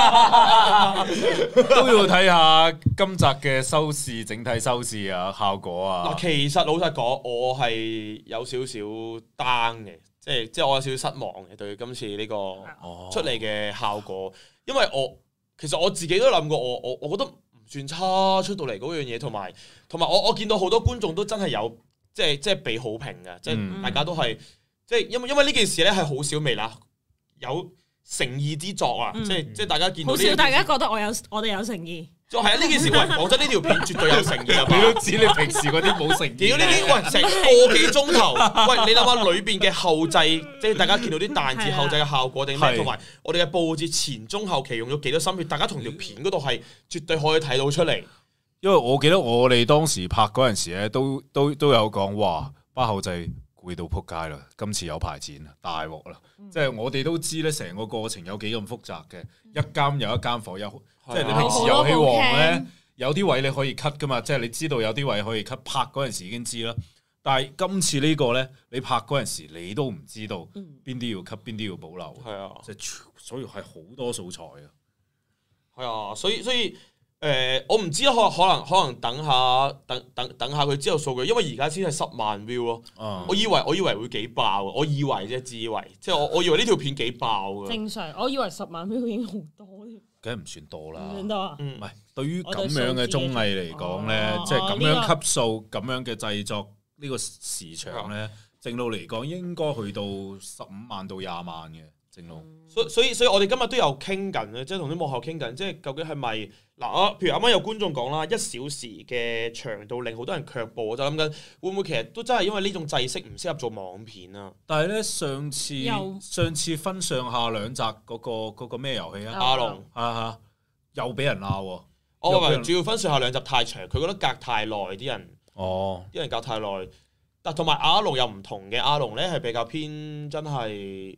[SPEAKER 2] 都要睇下今集嘅收視整體收視啊效果啊。
[SPEAKER 1] 嗱，其實老實講，我係有少少 down 嘅，即係我有少少失望嘅對今次呢個出嚟嘅效果，因為其實我自己都諗過，我覺得唔算差出到嚟嗰樣嘢，同埋我見到好多觀眾都真係有即係俾好評嘅，即係大家都係。即係因為呢件事咧係好少微辣有誠意之作啊！即係大家見到
[SPEAKER 3] 好少大家覺得我哋有誠意。
[SPEAKER 1] 就係啊！呢件事喂，講真，呢條片絕對有誠意啊！
[SPEAKER 2] 你都知你平時嗰啲冇誠意。
[SPEAKER 1] 屌呢啲喂，成個幾鐘頭，喂你諗下裏邊嘅後製，即係大家見到啲彈字後製嘅效果定咩？同埋我哋嘅佈置前中後期用咗幾多心血，大家同條片嗰度係絕對可以睇到出嚟。
[SPEAKER 2] 因為我記得我哋當時拍嗰陣時咧，都有講哇，班後製攰到撲街啦！今次有排剪啦，大鑊啦！即係我哋都知咧，成個過程有幾咁複雜嘅，一間有一間房，即係你平時遊戲王咧，有啲位你可以 cut 噶嘛，即係你知道有啲位可以 cut，拍嗰陣時已經知啦。但係今次呢個咧，你拍嗰陣時你都唔知道邊啲要 cut，邊啲要保留。
[SPEAKER 1] 係啊，
[SPEAKER 2] 即係所以係好多素材啊。
[SPEAKER 1] 係啊，所以。我唔知可能等下佢之後數據，因為而家先係10萬 view 咯。我以為會幾爆，我以為啫，自以為，即係我以為呢條片幾爆嘅。
[SPEAKER 3] 正常，我以為10萬 view 已經好多添。
[SPEAKER 2] 梗係唔算多啦。
[SPEAKER 3] 唔算多啊？
[SPEAKER 2] 唔係，對於咁樣嘅綜藝嚟講咧，即係咁樣級數、咁樣嘅製作呢個時長咧，正路嚟講應該去到15萬到20萬嘅正路。
[SPEAKER 1] 所以我哋今日都有傾緊嘅，即係同啲幕後傾緊，即係究竟係咪嗱？譬如啱啱有觀眾講啦，1小時嘅長度令好多人卻步，我就諗緊會唔會其實都真係因為呢種制式唔適合做網片啊？
[SPEAKER 2] 但係咧，上次分上下2集嗰個咩遊戲啊？
[SPEAKER 1] 阿龍
[SPEAKER 2] 嚇又俾人鬧喎。
[SPEAKER 1] 我話主要分上下2集太長，佢覺得隔太耐，啲人隔太耐。但同埋阿龍又唔同嘅，阿龍咧係比較偏真係。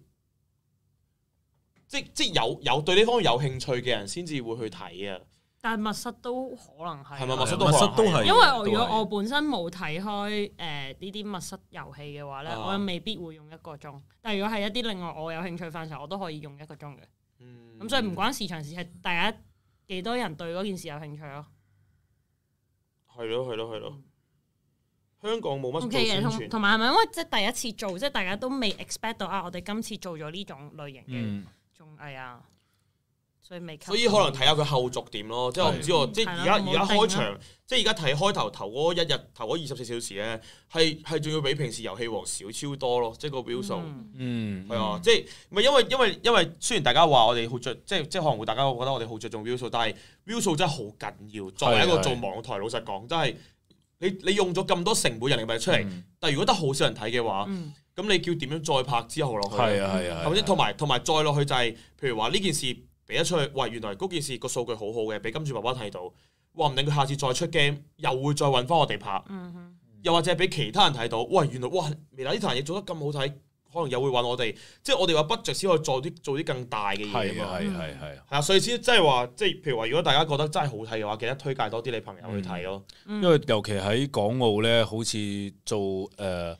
[SPEAKER 1] 即有對呢方面有興趣嘅人先至會去睇啊！
[SPEAKER 3] 但係密室都可能係，
[SPEAKER 1] 係咪密室都係？
[SPEAKER 3] 因為如果我本身冇睇開呢啲密室遊戲嘅話咧，我又未必會用1個鐘。但係如果係一啲另外我有興趣範疇，我都可以用1個鐘嘅。咁所以唔關時長事，係大家幾多人對嗰件事有興趣咯。
[SPEAKER 1] 係咯。香港冇乜做
[SPEAKER 3] 宣
[SPEAKER 1] 傳，
[SPEAKER 3] 同埋係咪因為即係第一次做，即係大家都未 expect 到啊！我哋今次做咗呢種類型嘅。係啊，所以
[SPEAKER 1] 可能睇下佢後續點咯，即係我唔知喎，即係而家開場，即係而家睇開頭嗰1日頭嗰24小時咧，係仲要比平時遊戲王少超多咯，即係個 view 數，係啊，即係唔係因為雖然大家話我哋好着，即係可能會大家會覺得我哋好着重 view 數，但係 view 數真係好緊要。作為一個做網台，老實講，真係你用咗咁多成本人力物力出嚟，但係如果得好少人睇嘅話。咁你叫點樣再拍之後落去？係咪先？同埋再落去就係，譬如話呢件事俾得出去，喂，原來嗰件事個數據好好嘅，俾金主爸爸睇到，話唔定佢下次再出 game，又會再揾翻我哋拍。又或者俾其他人睇到，喂，原來哇，微辣呢壇嘢做得咁好睇，可能又會揾我哋。即係我哋話budget先可以做啲更大嘅嘢啊嘛。係啊，所以先即係話，即係譬如話，如果大家覺得真係好睇嘅話，記得推介多啲你朋友去睇咯。
[SPEAKER 2] 因為尤其喺港澳咧，好似做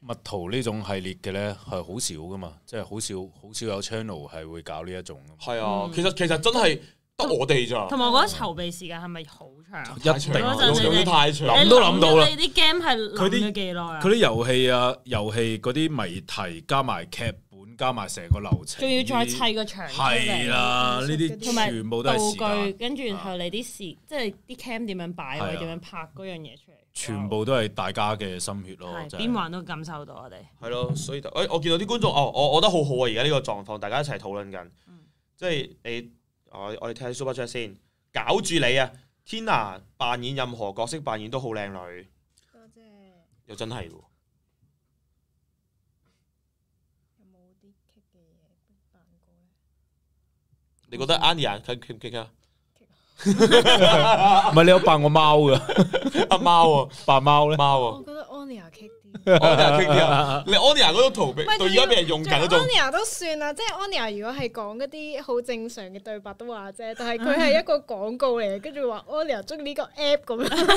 [SPEAKER 2] 蜜桃呢種系列嘅咧係好少噶嘛，即係好少有 channel 係會搞呢一種。
[SPEAKER 1] 係啊，其實真係得我哋咋。
[SPEAKER 3] 同埋我覺得籌備時間係咪好長？
[SPEAKER 2] 一定
[SPEAKER 1] 用得太長，
[SPEAKER 2] 諗都諗到啦。
[SPEAKER 3] 你啲 game 係諗咗幾耐啊？
[SPEAKER 2] 佢啲遊戲嗰啲謎題加埋劇本加埋成個流程，
[SPEAKER 3] 仲要再砌個場出嚟。
[SPEAKER 2] 係啦，呢啲全部都係時間。
[SPEAKER 3] 道具，跟住然後你啲即係啲 cam 點樣擺位，點樣拍嗰樣嘢出嚟。
[SPEAKER 2] 全部都係大家嘅心血咯，
[SPEAKER 3] 邊玩都感受到我哋。
[SPEAKER 1] 係咯，所以我見到啲觀眾，我覺得好好啊！而家呢個狀況，大家一齊討論緊，即係我哋睇下 Super Chat 先，搞住你啊 ！Tina 扮演任何角色扮演都好靚女，
[SPEAKER 4] 多謝。
[SPEAKER 1] 又真係喎。
[SPEAKER 4] 有冇啲棘嘅嘢扮過咧？
[SPEAKER 1] 你覺得 Anya 棘唔棘啊？
[SPEAKER 2] 唔係你有扮過貓噶？
[SPEAKER 1] 阿貓啊，
[SPEAKER 2] 扮貓咧？
[SPEAKER 1] 貓啊！
[SPEAKER 4] 我覺得 Anya 棘啲。
[SPEAKER 1] Anya 棘啲啊！你 Anya 嗰種圖片到而家俾人用緊嗰種。
[SPEAKER 4] Anya 都算啦，即係 Anya 如果係講嗰啲好正常嘅對白都話啫，但係佢係一個廣告嚟嘅，跟住話 Anya 中意呢個 app 咁樣，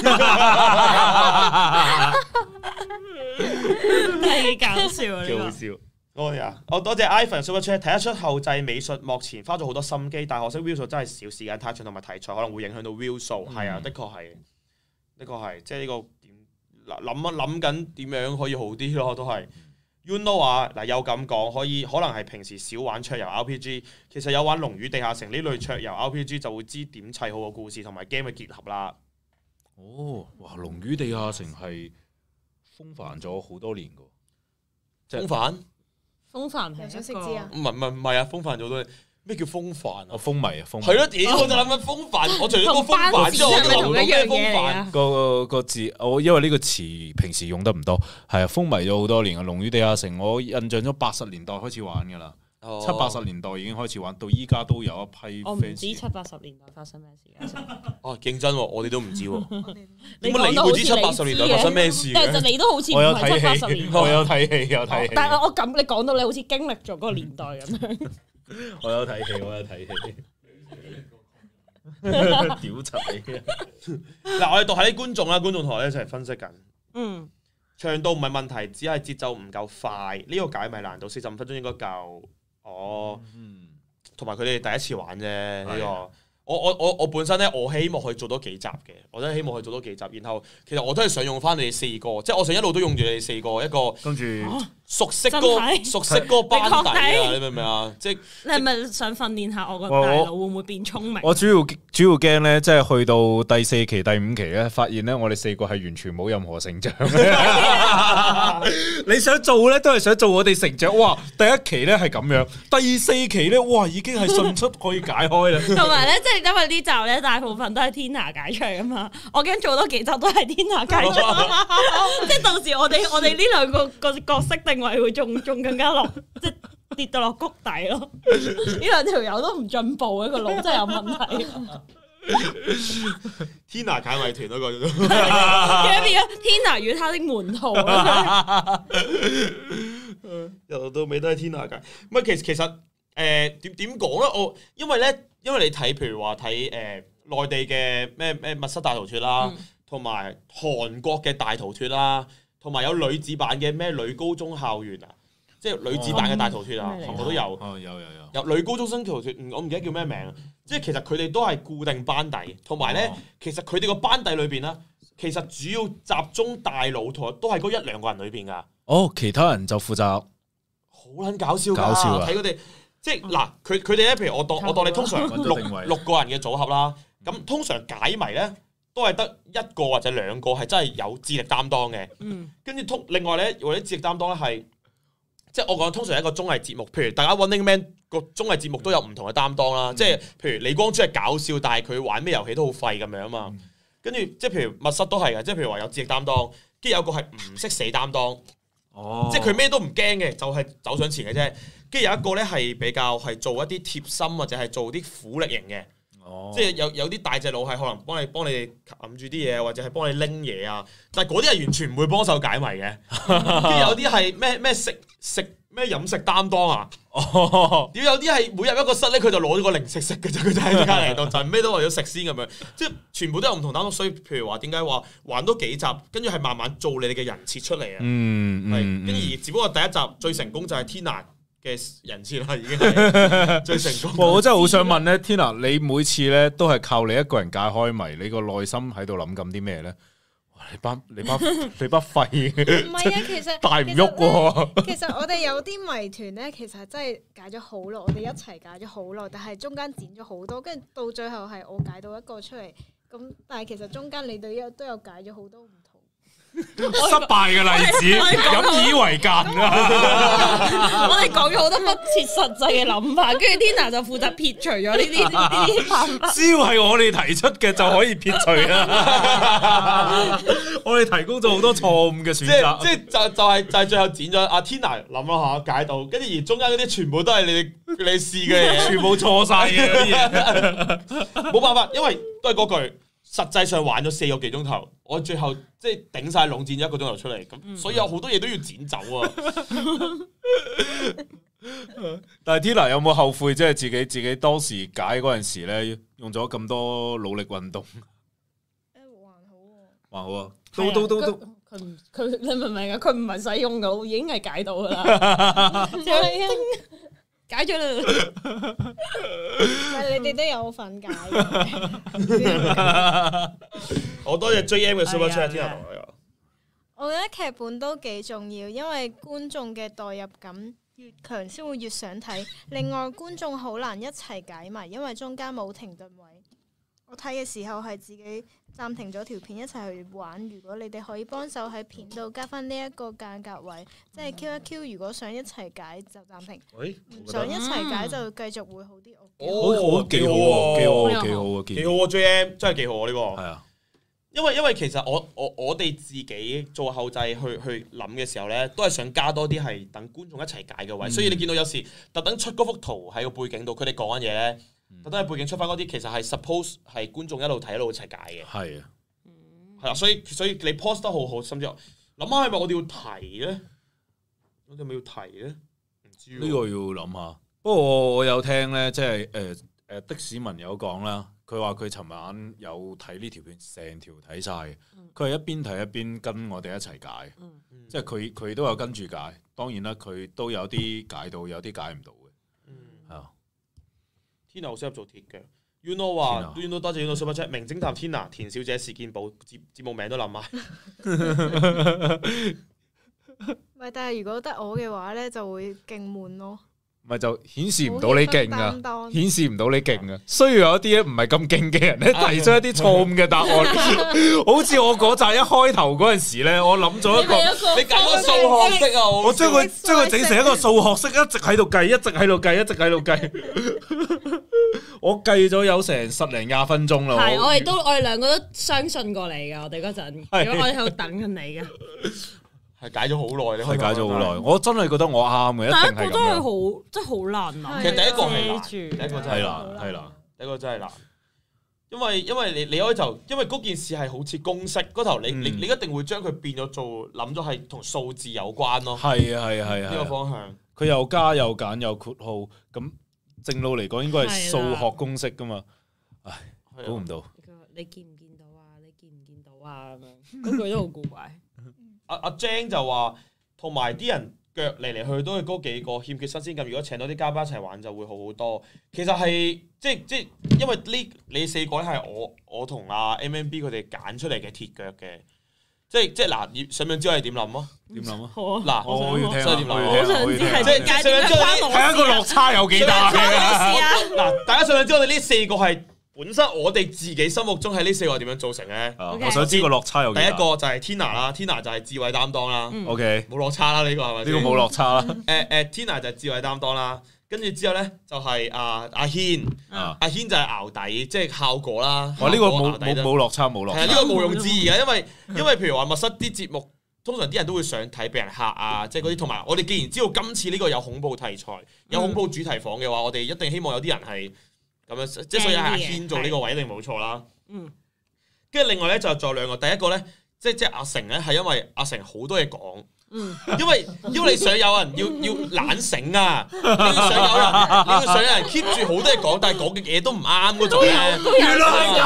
[SPEAKER 3] 係搞笑啊！
[SPEAKER 2] 幾好笑。
[SPEAKER 1] 我多謝 Ivan Super Chat， 睇得出後製美術幕前花咗好多心機，但可惜 view 數真係少，時間太長同埋題材可能會影響到 view 數。係啊，的確係，即係呢個點諗緊點樣可以好啲咯，都係。You know 啊，嗱有咁講，可能係平時少玩桌遊 RPG， 其實有玩《龍與地下城》呢類桌遊 RPG 就會知點砌好個故事同埋 game 嘅結合啦。
[SPEAKER 2] 哦，哇！《龍與地下城》係風帆咗好多年噶，
[SPEAKER 1] 風帆。
[SPEAKER 3] 風帆
[SPEAKER 4] 又想識知啊？
[SPEAKER 1] 唔係啊！風帆做到咩叫風帆啊？
[SPEAKER 2] 風迷啊，風迷
[SPEAKER 1] 係咯，屌我就諗緊風帆，我除咗個風帆之外，我都諗唔到咩風帆。
[SPEAKER 2] 個字，因為呢個詞平時用得唔多，係啊，風靡咗好多年啊！《龍與地下城》我印象咗80年代開始玩噶啦，70、80年代已經開始玩，到依家都有一批 fans。
[SPEAKER 3] 我唔知70、80年代發生咩事嘅。
[SPEAKER 1] 哦，認真喎，我哋都唔知喎。
[SPEAKER 3] 你
[SPEAKER 1] 點解你會知70、80年代發生咩事
[SPEAKER 3] 但係你都好似唔係70、80年代。
[SPEAKER 2] 我有睇戲，
[SPEAKER 3] 但係你講到你好似經歷咗嗰個年代咁樣。
[SPEAKER 2] 我有睇戲，屌柒你！
[SPEAKER 1] 嗱，我哋讀下啲觀眾啦，觀眾同我哋一齊分析緊。
[SPEAKER 3] 嗯，
[SPEAKER 1] 長度唔係問題，只係節奏唔夠快。呢個解謎難度45分鐘應該夠。哦，同埋佢哋第一次玩啫呢個。我本身咧，我希望可以做多幾集嘅，我真係希望可以做多幾集。然後其實我都係想用翻你哋4個，即係我想一路都用住你哋4個一個，跟住熟悉嗰個班底啊！你明唔明啊？即係
[SPEAKER 3] 你係咪想訓練下我個大腦會唔會變聰明？
[SPEAKER 2] 我主要驚咧，即係去到第4期、第5期咧，發現咧我哋4個係完全冇任何成長。你想做咧，都係想做我哋成長。哇！第1期咧係咁樣，第4期咧，哇已經係迅速可以解開啦。
[SPEAKER 3] 同埋咧，即係因為呢集咧，大部分都係 Tina 解出嚟噶嘛，我驚做多幾集都係 Tina 解出，即係到時我哋呢兩個角色定位會仲更加落，即係跌到落谷底咯。呢兩條友都唔進步嘅，個腦真係有問題。
[SPEAKER 1] Tina 解謎團嗰個，
[SPEAKER 3] 變咗 Tina 與他的門徒。
[SPEAKER 1] 由頭到尾都係 Tina 解。唔係其實點講咧？因為你睇譬如話睇內地嘅咩密室大逃脫啦，同埋韓國嘅大逃脫啦，同埋有女子版嘅咩女高中校園啊，即係女子版嘅大逃脫啊，韓國都有。有女高中生逃脫，我唔記得叫咩名。即係其實佢哋都係固定班底，同埋咧，其實佢哋個班底裏邊咧，其實主要集中大佬同都係嗰1-2個人裏邊噶。
[SPEAKER 2] 哦，其他人就負責
[SPEAKER 1] 好撚搞笑㗎，睇佢哋。即係嗱，佢哋咧，譬如我當你通常六個人嘅組合啦，咁通常解謎咧都係得1個或者2個係真係有智力擔當嘅。跟住另外咧，或者智力擔當咧係，即係我講通常一個綜藝節目，譬如大家 Running Man 個綜藝節目都有唔同嘅擔當啦。即係譬如李光洙係搞笑，但係佢玩咩遊戲都好廢咁樣啊嘛。跟住即係譬如密室都係嘅，即係譬如話有智力擔當，跟住有個係唔識死擔當。即係佢咩都唔驚嘅，就係走上前嘅啫。跟住有一個咧係比較係做一啲貼心或者係做啲苦力型嘅。 即係有啲大隻佬係可能幫你揞住啲嘢，或者係幫你拎嘢啊。但係嗰啲係完全唔會幫手解謎嘅。跟住有啲係咩食咩飲食擔當啊？屌有啲係每入一個室咧，佢就攞咗個零食食嘅啫，佢就喺隔離度就咩都為咗食先咁樣。即係全部都有唔同擔當，所以譬如話點解話玩多幾集，跟住係慢慢做你哋嘅人設出嚟啊。跟住而只不過第一集最成功就係 Tina 嘅人設啦，已經係最成功。
[SPEAKER 2] 我真係好想問咧，Tina，你每次咧都係靠你一個人解開謎，你個內心喺度諗緊啲咩咧？你班廢嘅，
[SPEAKER 4] 唔係啊，其實
[SPEAKER 2] 大唔喐喎。
[SPEAKER 4] 其實我哋有啲謎團咧，其實真係解咗好耐，我哋一齊解咗好耐，但係中間剪咗好多，跟住到最後係我解到一個出嚟，咁但係其實中間你哋都有解咗好多唔同
[SPEAKER 2] 失敗嘅例子，引以為戒啊！
[SPEAKER 3] 我哋講咗好多不切實際嘅諗法，跟住 Tina 就負責撇除咗呢啲辦法。
[SPEAKER 2] 只要係我哋提出嘅就可以撇除啦。我哋提供咗好多錯誤嘅選擇，
[SPEAKER 1] 即係就係最後剪咗阿 Tina 諗咗下解到，跟住而中間嗰啲全部都係你試嘅嘢，
[SPEAKER 2] 全部錯晒嘅啲嘢。
[SPEAKER 1] 冇辦法，因為都係嗰句。實際上玩咗4個幾鐘頭，我最後即係頂晒籠剪咗1個鐘頭出嚟，咁所以有好多嘢都要剪走啊！
[SPEAKER 2] 但係 Tina 有冇後悔？即係自己當時解嗰陣時咧，用咗咁多努力運動。還好啊，都。
[SPEAKER 3] 佢你明唔明啊？佢唔係使用腦，已經係解到噶啦。解咗啦，
[SPEAKER 4] 但你哋都有份解嘅。
[SPEAKER 1] 我多謝 JM 嘅 Super Chat
[SPEAKER 4] 我覺得劇本都幾重要，因為觀眾嘅代入感越強，先會越想睇。另外，觀眾好難一齊解謎，因為中間冇停頓位。我睇嘅時候係自己暫停咗條片一齊去玩。如果你哋可以幫手喺片度加翻呢一個間隔位，即係 Q 一 Q。如果想一齊解就暫停，唔想一齊解就繼續會好啲。
[SPEAKER 2] 好幾好喎，幾好啊
[SPEAKER 1] ！JM 真係幾好啊！呢個
[SPEAKER 2] 係啊，
[SPEAKER 1] 因為其實我哋自己做後製去諗嘅時候咧，都係想加多啲係等觀眾一齊解嘅位。所以你見到有時特登出嗰幅圖喺個背景度，佢哋講緊嘢咧。特登喺背景出翻嗰啲，其實係 suppose 係觀眾一路睇一路一齊解嘅。係啊，係啦，所以你 post 得好好，甚至諗下係咪我哋要提咧？我哋係咪要提咧？唔知呢
[SPEAKER 2] 個要諗下。不過我有聽咧，即係的士文有講啦，佢話佢尋晚有睇呢條片，成條睇晒嘅。佢係一邊睇一邊跟我哋一齊解，即係佢都有跟住解。當然啦，佢都有啲解到，有啲解唔到嘅。係啊。
[SPEAKER 1] Tina 好適合做鐵腳 ，You know 話 ，You know 多謝 You know Super Chat，名偵探 Tina 田小姐事件簿節目名都諗埋。
[SPEAKER 4] 唔係，但係如果得我嘅話咧，就會勁悶咯。
[SPEAKER 2] 咪就顯示唔到你勁啊！顯示唔到你勁啊！需要有一啲唔係咁勁嘅人咧，提出一啲錯誤嘅答案。好似我嗰集一開頭嗰陣時咧，我諗咗一個，
[SPEAKER 1] 你揀個數學式啊！
[SPEAKER 2] 我將佢整成一個數學式，一直喺度計，一直喺度計，一直喺度計。我計咗有成10零20分鐘啦。
[SPEAKER 3] 係，我哋兩個都相信過你噶。我哋嗰陣，如果我哋喺度等緊你噶。
[SPEAKER 1] 係解咗好耐，
[SPEAKER 2] 係解咗好耐。我真係覺得我啱嘅，一定係咁樣。
[SPEAKER 3] 第一個都係好，真係好難諗。
[SPEAKER 1] 其實第一個係難，
[SPEAKER 3] 第
[SPEAKER 1] 一個真係難，係啦，第一個真係難。因為你開頭，因為嗰件事係好似公式嗰頭，你一定會將佢變咗做諗咗係同數字有關咯。
[SPEAKER 2] 係啊，
[SPEAKER 1] 呢個方向。
[SPEAKER 2] 佢又加又減又括號，咁正路嚟講應該係數學公式噶嘛。唉，估唔到。
[SPEAKER 3] 你見唔見到啊？你見唔見到啊？咁樣嗰句都好古怪。
[SPEAKER 1] 阿 Jane 就話，同埋啲人腳嚟嚟去去都係嗰幾個欠缺新鮮感。如果請到啲嘉賓一齊玩，就會好好多。其實係即因為你4個咧係我同阿 MMB 佢哋揀出嚟嘅鐵腳嘅。即嗱，想唔想知我哋點諗啊？
[SPEAKER 2] 點諗啊？
[SPEAKER 1] 嗱，
[SPEAKER 2] 我要聽，
[SPEAKER 3] 我想知係點解
[SPEAKER 2] 睇一個落差有幾大
[SPEAKER 1] 嗱，大家想唔想知我哋呢4個係？本身我哋自己心目中係呢4個點樣造成咧？
[SPEAKER 2] 我想知個落差有幾大。
[SPEAKER 1] 第一個就係 Tina 啦，Tina 就係智慧擔當啦。
[SPEAKER 2] OK，
[SPEAKER 1] 冇落差啦，呢個係咪？
[SPEAKER 2] 呢個冇落差啦。
[SPEAKER 1] Tina 就係智慧擔當啦，跟住之後咧就係阿軒，阿軒就係淆底，即係效果啦。
[SPEAKER 2] 呢個冇落差，冇落差。
[SPEAKER 1] 係呢個毋庸置疑嘅，因為譬如話密室啲節目，通常啲人都會想睇俾人嚇啊，即係嗰啲。同埋我哋既然知道今次呢個有恐怖題材、有恐怖主題房嘅話，我哋一定希望有啲人係咁樣，即係所以係阿軒做呢個位一定冇錯啦。
[SPEAKER 3] 嗯，
[SPEAKER 1] 跟住另外咧就仲有兩個，第一個咧即係阿成咧係因為阿成好多嘢講。因為你想有人要懶醒啊，你要想有人 keep 住好多嘢講，但係講嘅嘢都唔啱嗰種咧。
[SPEAKER 2] 原來係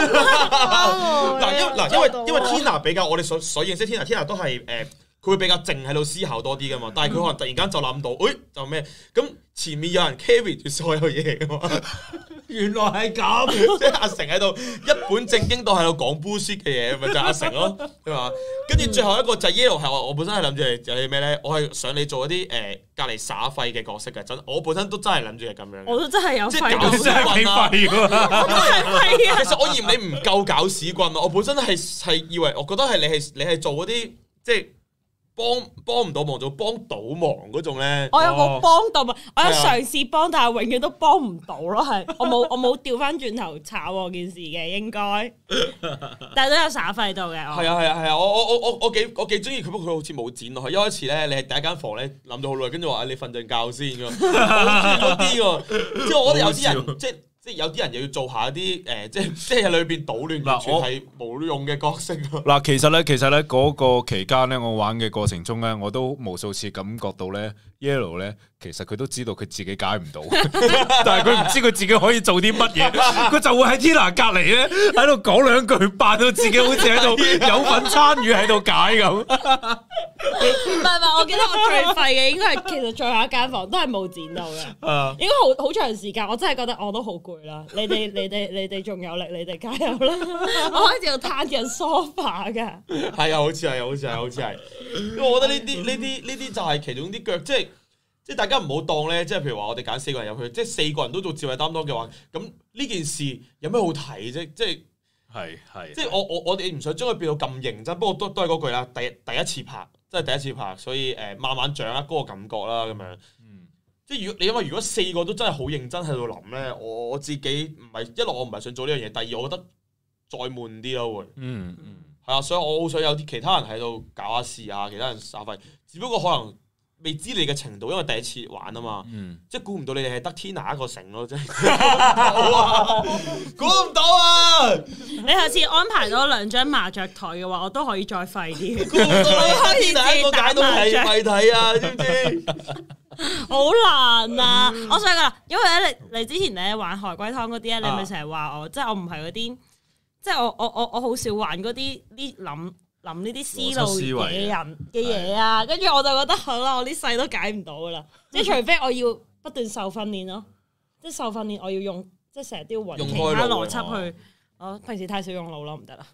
[SPEAKER 1] 咁。因為 Tina 比較我哋所認識 Tina 都係佢會比較靜喺度思考多啲噶嘛，但係佢可能突然間就諗到，就咩咁前面有人 carry 住所有嘢噶嘛。
[SPEAKER 2] 原來係咁，
[SPEAKER 1] 即係阿成喺度一本正經到喺度講 bullshit 嘅嘢，咪就係阿成咯，係嘛？跟住最後一個就係 Yellow 係我本身係諗住係咩咧？我係想你做一啲隔離耍廢嘅角色嘅，真我本身都真係諗住係咁樣。
[SPEAKER 3] 我都真係有
[SPEAKER 1] 即係
[SPEAKER 3] 廢，
[SPEAKER 1] 搞屎棍啊！
[SPEAKER 3] 係
[SPEAKER 1] 其實我嫌你唔夠搞屎棍啊！我本身係以為，我覺得係你係做嗰啲即係。幫唔到忙，做幫倒忙嗰種咧。
[SPEAKER 3] 我有冇幫到嘛？我有嘗試幫，但係永遠都幫唔到咯。係我冇調翻轉頭炒件事嘅，應該，但係都有耍廢到嘅。
[SPEAKER 1] 係啊！我幾中意佢，不過佢好似冇剪落去。一開始咧，你係第一間房咧諗咗好耐，跟住話你瞓陣覺先㗎。我中意嗰啲喎，即係我覺得有啲人即係有啲人又要做下一啲即係喺裏邊搗亂，完全係冇用嘅角色。
[SPEAKER 2] 嗱，其實咧嗰個期間咧，我玩嘅過程中咧，我都無數次感覺到咧 ，Yellow 咧，其實佢都知道佢自己解唔到，但係佢唔知佢自己可以做啲乜嘢，佢就會喺 Tina 隔離咧喺度講兩句，扮到自己好似喺度有份參與喺度解咁。
[SPEAKER 3] 唔係，我記得我最廢嘅應該係其實最後一間房都係冇剪到嘅，應該好長時間，我真係覺得我都好攰啦。你哋仲有力，你哋加油啦！我開始要攤緊 sofa 㗎。
[SPEAKER 1] 係啊，好似係，因為我覺得呢啲就係其中啲腳，即係大家唔好當咧，即係譬如話我哋揀4個人入去，即係4個人都做智慧擔當嘅話，咁呢件事有咩好睇啫？即係我哋唔想將佢變到咁認真，不過都係嗰句啦，第一次拍，真係第一次拍，所以慢慢掌握嗰個感覺啦，咁樣。即係因為如果4個都真係好認真喺度諗咧，我自己唔係一來我唔係想做呢樣嘢，第二我覺得再悶啲咯會。係啊，所以我好想有啲其他人喺度搞下事啊，其他人耍廢，只不過可能未知你嘅程度，因為第一次玩啊嘛，即係估唔到你哋係得 Tina 一個成咯，真係估唔到啊！
[SPEAKER 3] 你下次安排多2張麻雀台嘅話，我都可以再廢啲。
[SPEAKER 1] 估唔到你可以第一個解到係謎題啊，知唔知？
[SPEAKER 3] 好難啊！我想講，因為咧你之前咧玩海龜湯嗰啲咧，你咪成日話我，即係我唔係嗰啲，即係我好少玩嗰啲諗呢啲思路嘅人嘅嘢啊，跟住我就覺得好啦，我呢世都解唔到噶啦，即係除非我要不斷受訓練咯，即係受訓練我要用，即係成日都要揾其他邏輯去，我平時太少用腦咯，唔得啦，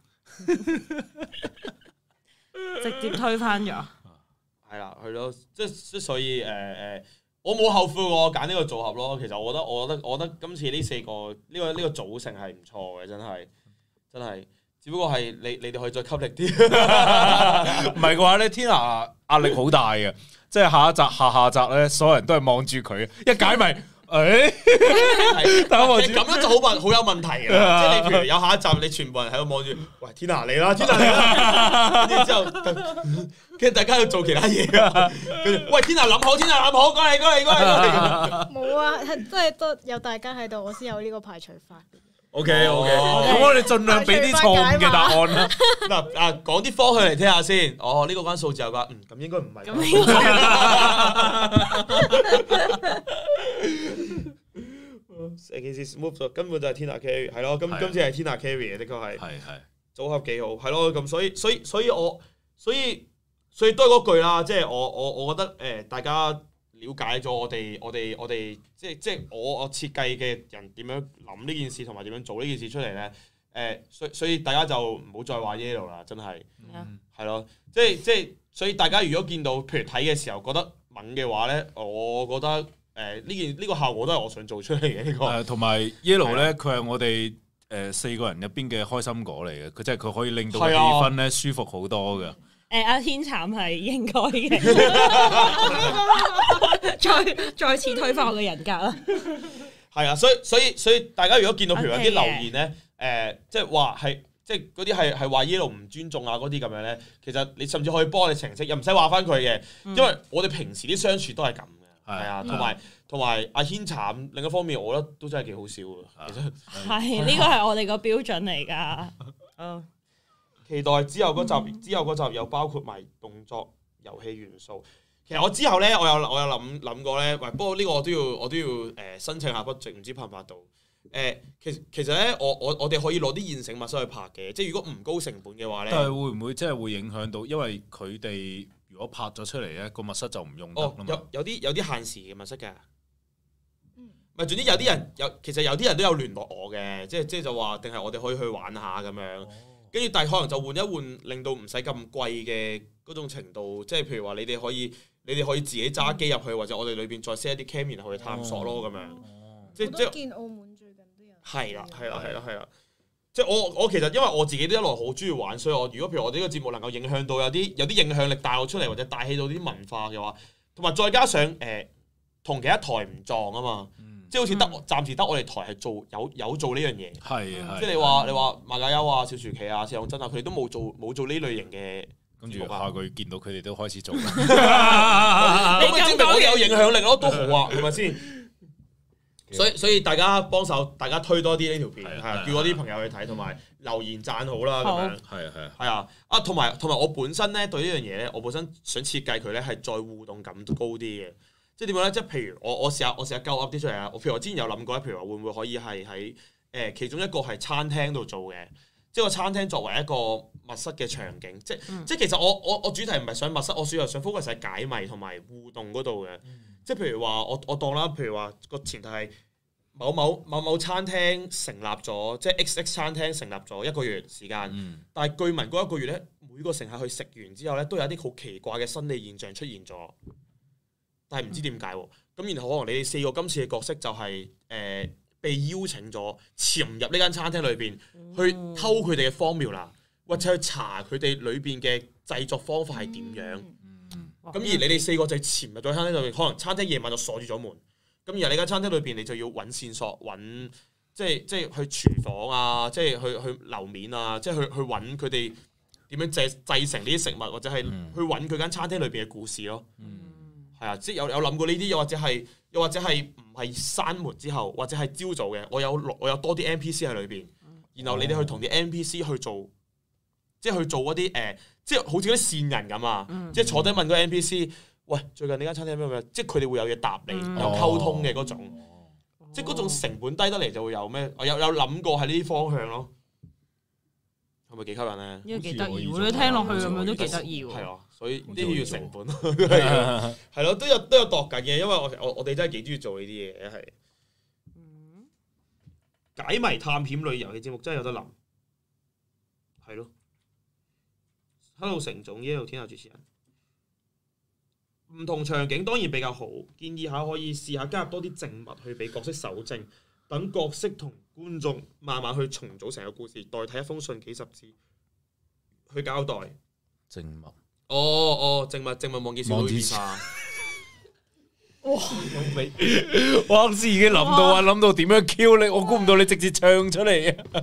[SPEAKER 3] 直接推翻咗。
[SPEAKER 1] 係啦，係咯，即所以我冇後悔我揀呢個組合咯。其實我覺得今次呢4個呢個組成係唔錯嘅，真係。只不過係你哋可以再吸力啲，
[SPEAKER 2] 唔係嘅話咧 ，Tina 壓力好大嘅，即係下集咧，所有人都係望住佢，一解咪。但係咁樣就好有問題㗎，
[SPEAKER 1] 即係你譬如有下一集，你全部人喺度望住，喂 Tina 嚟啦，跟住之後，跟住大家要做其他嘢啊，跟住喂 Tina 諗好，過嚟。
[SPEAKER 4] 冇啊，係真係都有大家喺度，我先有呢個排除法。
[SPEAKER 2] OK，咁我哋盡量俾啲錯誤嘅答案啦。
[SPEAKER 1] 嗱，講啲方向嚟聽下先。哦，呢個關數字有㗎，咁應該唔係。成件事 smooth 咗，根本就係 Tina carry， 係咯。今次係 Tina carry 嘅，的確係。係組合幾好，係咯。咁所以都係嗰句啦，即係我覺得大家了解咗我哋即係我設計嘅人點樣諗呢件事同埋點樣做呢件事出嚟咧？所以大家就唔好再話 Yellow 啦，真係係咯，即係所以大家如果見到譬如睇嘅時候覺得猛嘅話咧，我覺得呢個效果都係我想做出嚟嘅呢個。同埋 Yellow 咧，佢係我哋4個人入邊嘅開心果嚟嘅，佢即係佢可以令到氣氛咧舒服好多㗎。
[SPEAKER 3] 阿天慘係應該嘅，再次推翻我嘅人格啦。
[SPEAKER 1] 係啊，所以大家如果見到譬如有啲留言咧，即係話係即係嗰啲係話 Yellow 唔尊重啊嗰啲咁樣咧，其實你甚至可以幫我哋澄清，又唔使話翻佢嘅，因為我哋平時啲相處都係咁嘅。 係啊，同埋阿軒慘，另一方面我覺得都真係幾好笑嘅。其實
[SPEAKER 3] 係呢個係我哋個標準嚟㗎。
[SPEAKER 1] 期待之後嗰集又包括埋動作遊戲元素。其實我之後咧，我有諗過咧，喂，不過呢個我都要申請下 budget，唔知拍唔拍到？其實咧，我哋可以攞啲現成密室去拍嘅，即係如果唔高成本嘅話咧。
[SPEAKER 2] 但係會唔會真係會影響到？因為佢哋如果拍咗出嚟咧，個密室就唔用得啦嘛。
[SPEAKER 1] 有啲限時嘅密室㗎。咪總之有啲人其實有啲人都有聯絡我嘅，即係就話定係我哋可以去玩下咁樣。跟住但係可能就換一換，令到唔使咁貴嘅嗰種程度，即係譬如話你哋可以自己揸機入去，或者我哋裏邊再 set 一啲 cam 然後去探索咯咁樣。即
[SPEAKER 4] 係見澳門最近都有。
[SPEAKER 1] 係啦。即係我其實因為我自己都一來好中意玩，所以我如果譬如我哋呢個節目能夠影響到有啲影響力帶我出嚟，或者帶起到啲文化嘅話，同埋再加上同其他台唔撞啊嘛。即係好似暫時得我哋台係有做呢樣嘢，即係你話馬家優啊、小廚企啊、謝永真啊，佢哋都冇做呢類型嘅。
[SPEAKER 2] 跟住下個月見到佢哋都開始做，咁
[SPEAKER 1] 咪證明我哋有影響力咯，都好啊，係咪先？所以大家幫手，大家推多啲呢條片，係叫我啲朋友去睇，同埋留言讚好啦，咁樣係啊，同埋我本身咧對呢樣嘢咧，我本身想設計佢咧係再互動感高啲嘅。即係點講咧？即係譬如我試下鳩噏啲出嚟啊！譬如我之前有諗過咧，譬如話會唔會可以係喺其中一個係餐廳度做嘅，即係個餐廳作為一個密室嘅場景。即係其實我主題唔係想密室，我主要係想 focus 喺解謎同埋互動嗰度嘅。即係譬如話我當啦，譬如話個前提係某餐廳成立咗，即係 XX 餐廳成立咗1個月時間，但係據聞嗰1個月咧，每個乘客去食完之後咧，都有一啲好奇怪嘅生理現象出現咗。但係唔知點解喎，咁然後可能你哋4個今次嘅角色就係被邀請咗潛入呢間餐廳裏邊，去偷佢哋嘅formula，或者去查佢哋裏邊嘅製作方法係點樣。咁而你哋4個就潛入咗餐廳裏邊，可能餐廳夜晚就鎖住咗門。咁而呢間餐廳裏邊，你就要揾線索，揾即係去廚房啊，即係去樓面啊，即係去揾佢哋點樣製成呢啲食物，或者係去揾佢間餐廳裏邊嘅故事咯。係啊，即係有諗過呢啲，又或者係唔係閂門之後，或者係朝早嘅，我有多啲 NPC 喺裏邊，然後你哋去同啲 NPC 去做，即係去做嗰啲即係好似啲線人咁啊，即係坐低問個 NPC，喂，最近呢間餐廳咩？即係佢哋會有嘢答你，有溝通嘅嗰種，即係嗰種成本低得嚟就會有咩？我有諗過係呢啲方向咯，係咪幾吸引咧？
[SPEAKER 3] 呢個幾得意喎！你聽落去咁樣都幾得意喎。
[SPEAKER 1] 係啊，所以呢啲要成本，係咯，都有度緊嘅，因為我哋真係幾中意做呢啲嘢，係。解謎探險類遊戲節目真係有得諗，係咯。Hello 成總，Yellow 天下主持人，唔同場景當然比較好，建議下可以試下加入多啲靜物去俾角色搜證，等角色同觀眾慢慢去重組成個故事，代替一封信幾十字去交代。
[SPEAKER 2] 靜物。
[SPEAKER 1] 靜物望見小女孩。
[SPEAKER 2] 哇！我啱先已經諗到點樣 Q 你，我估唔到你直接唱出嚟啊！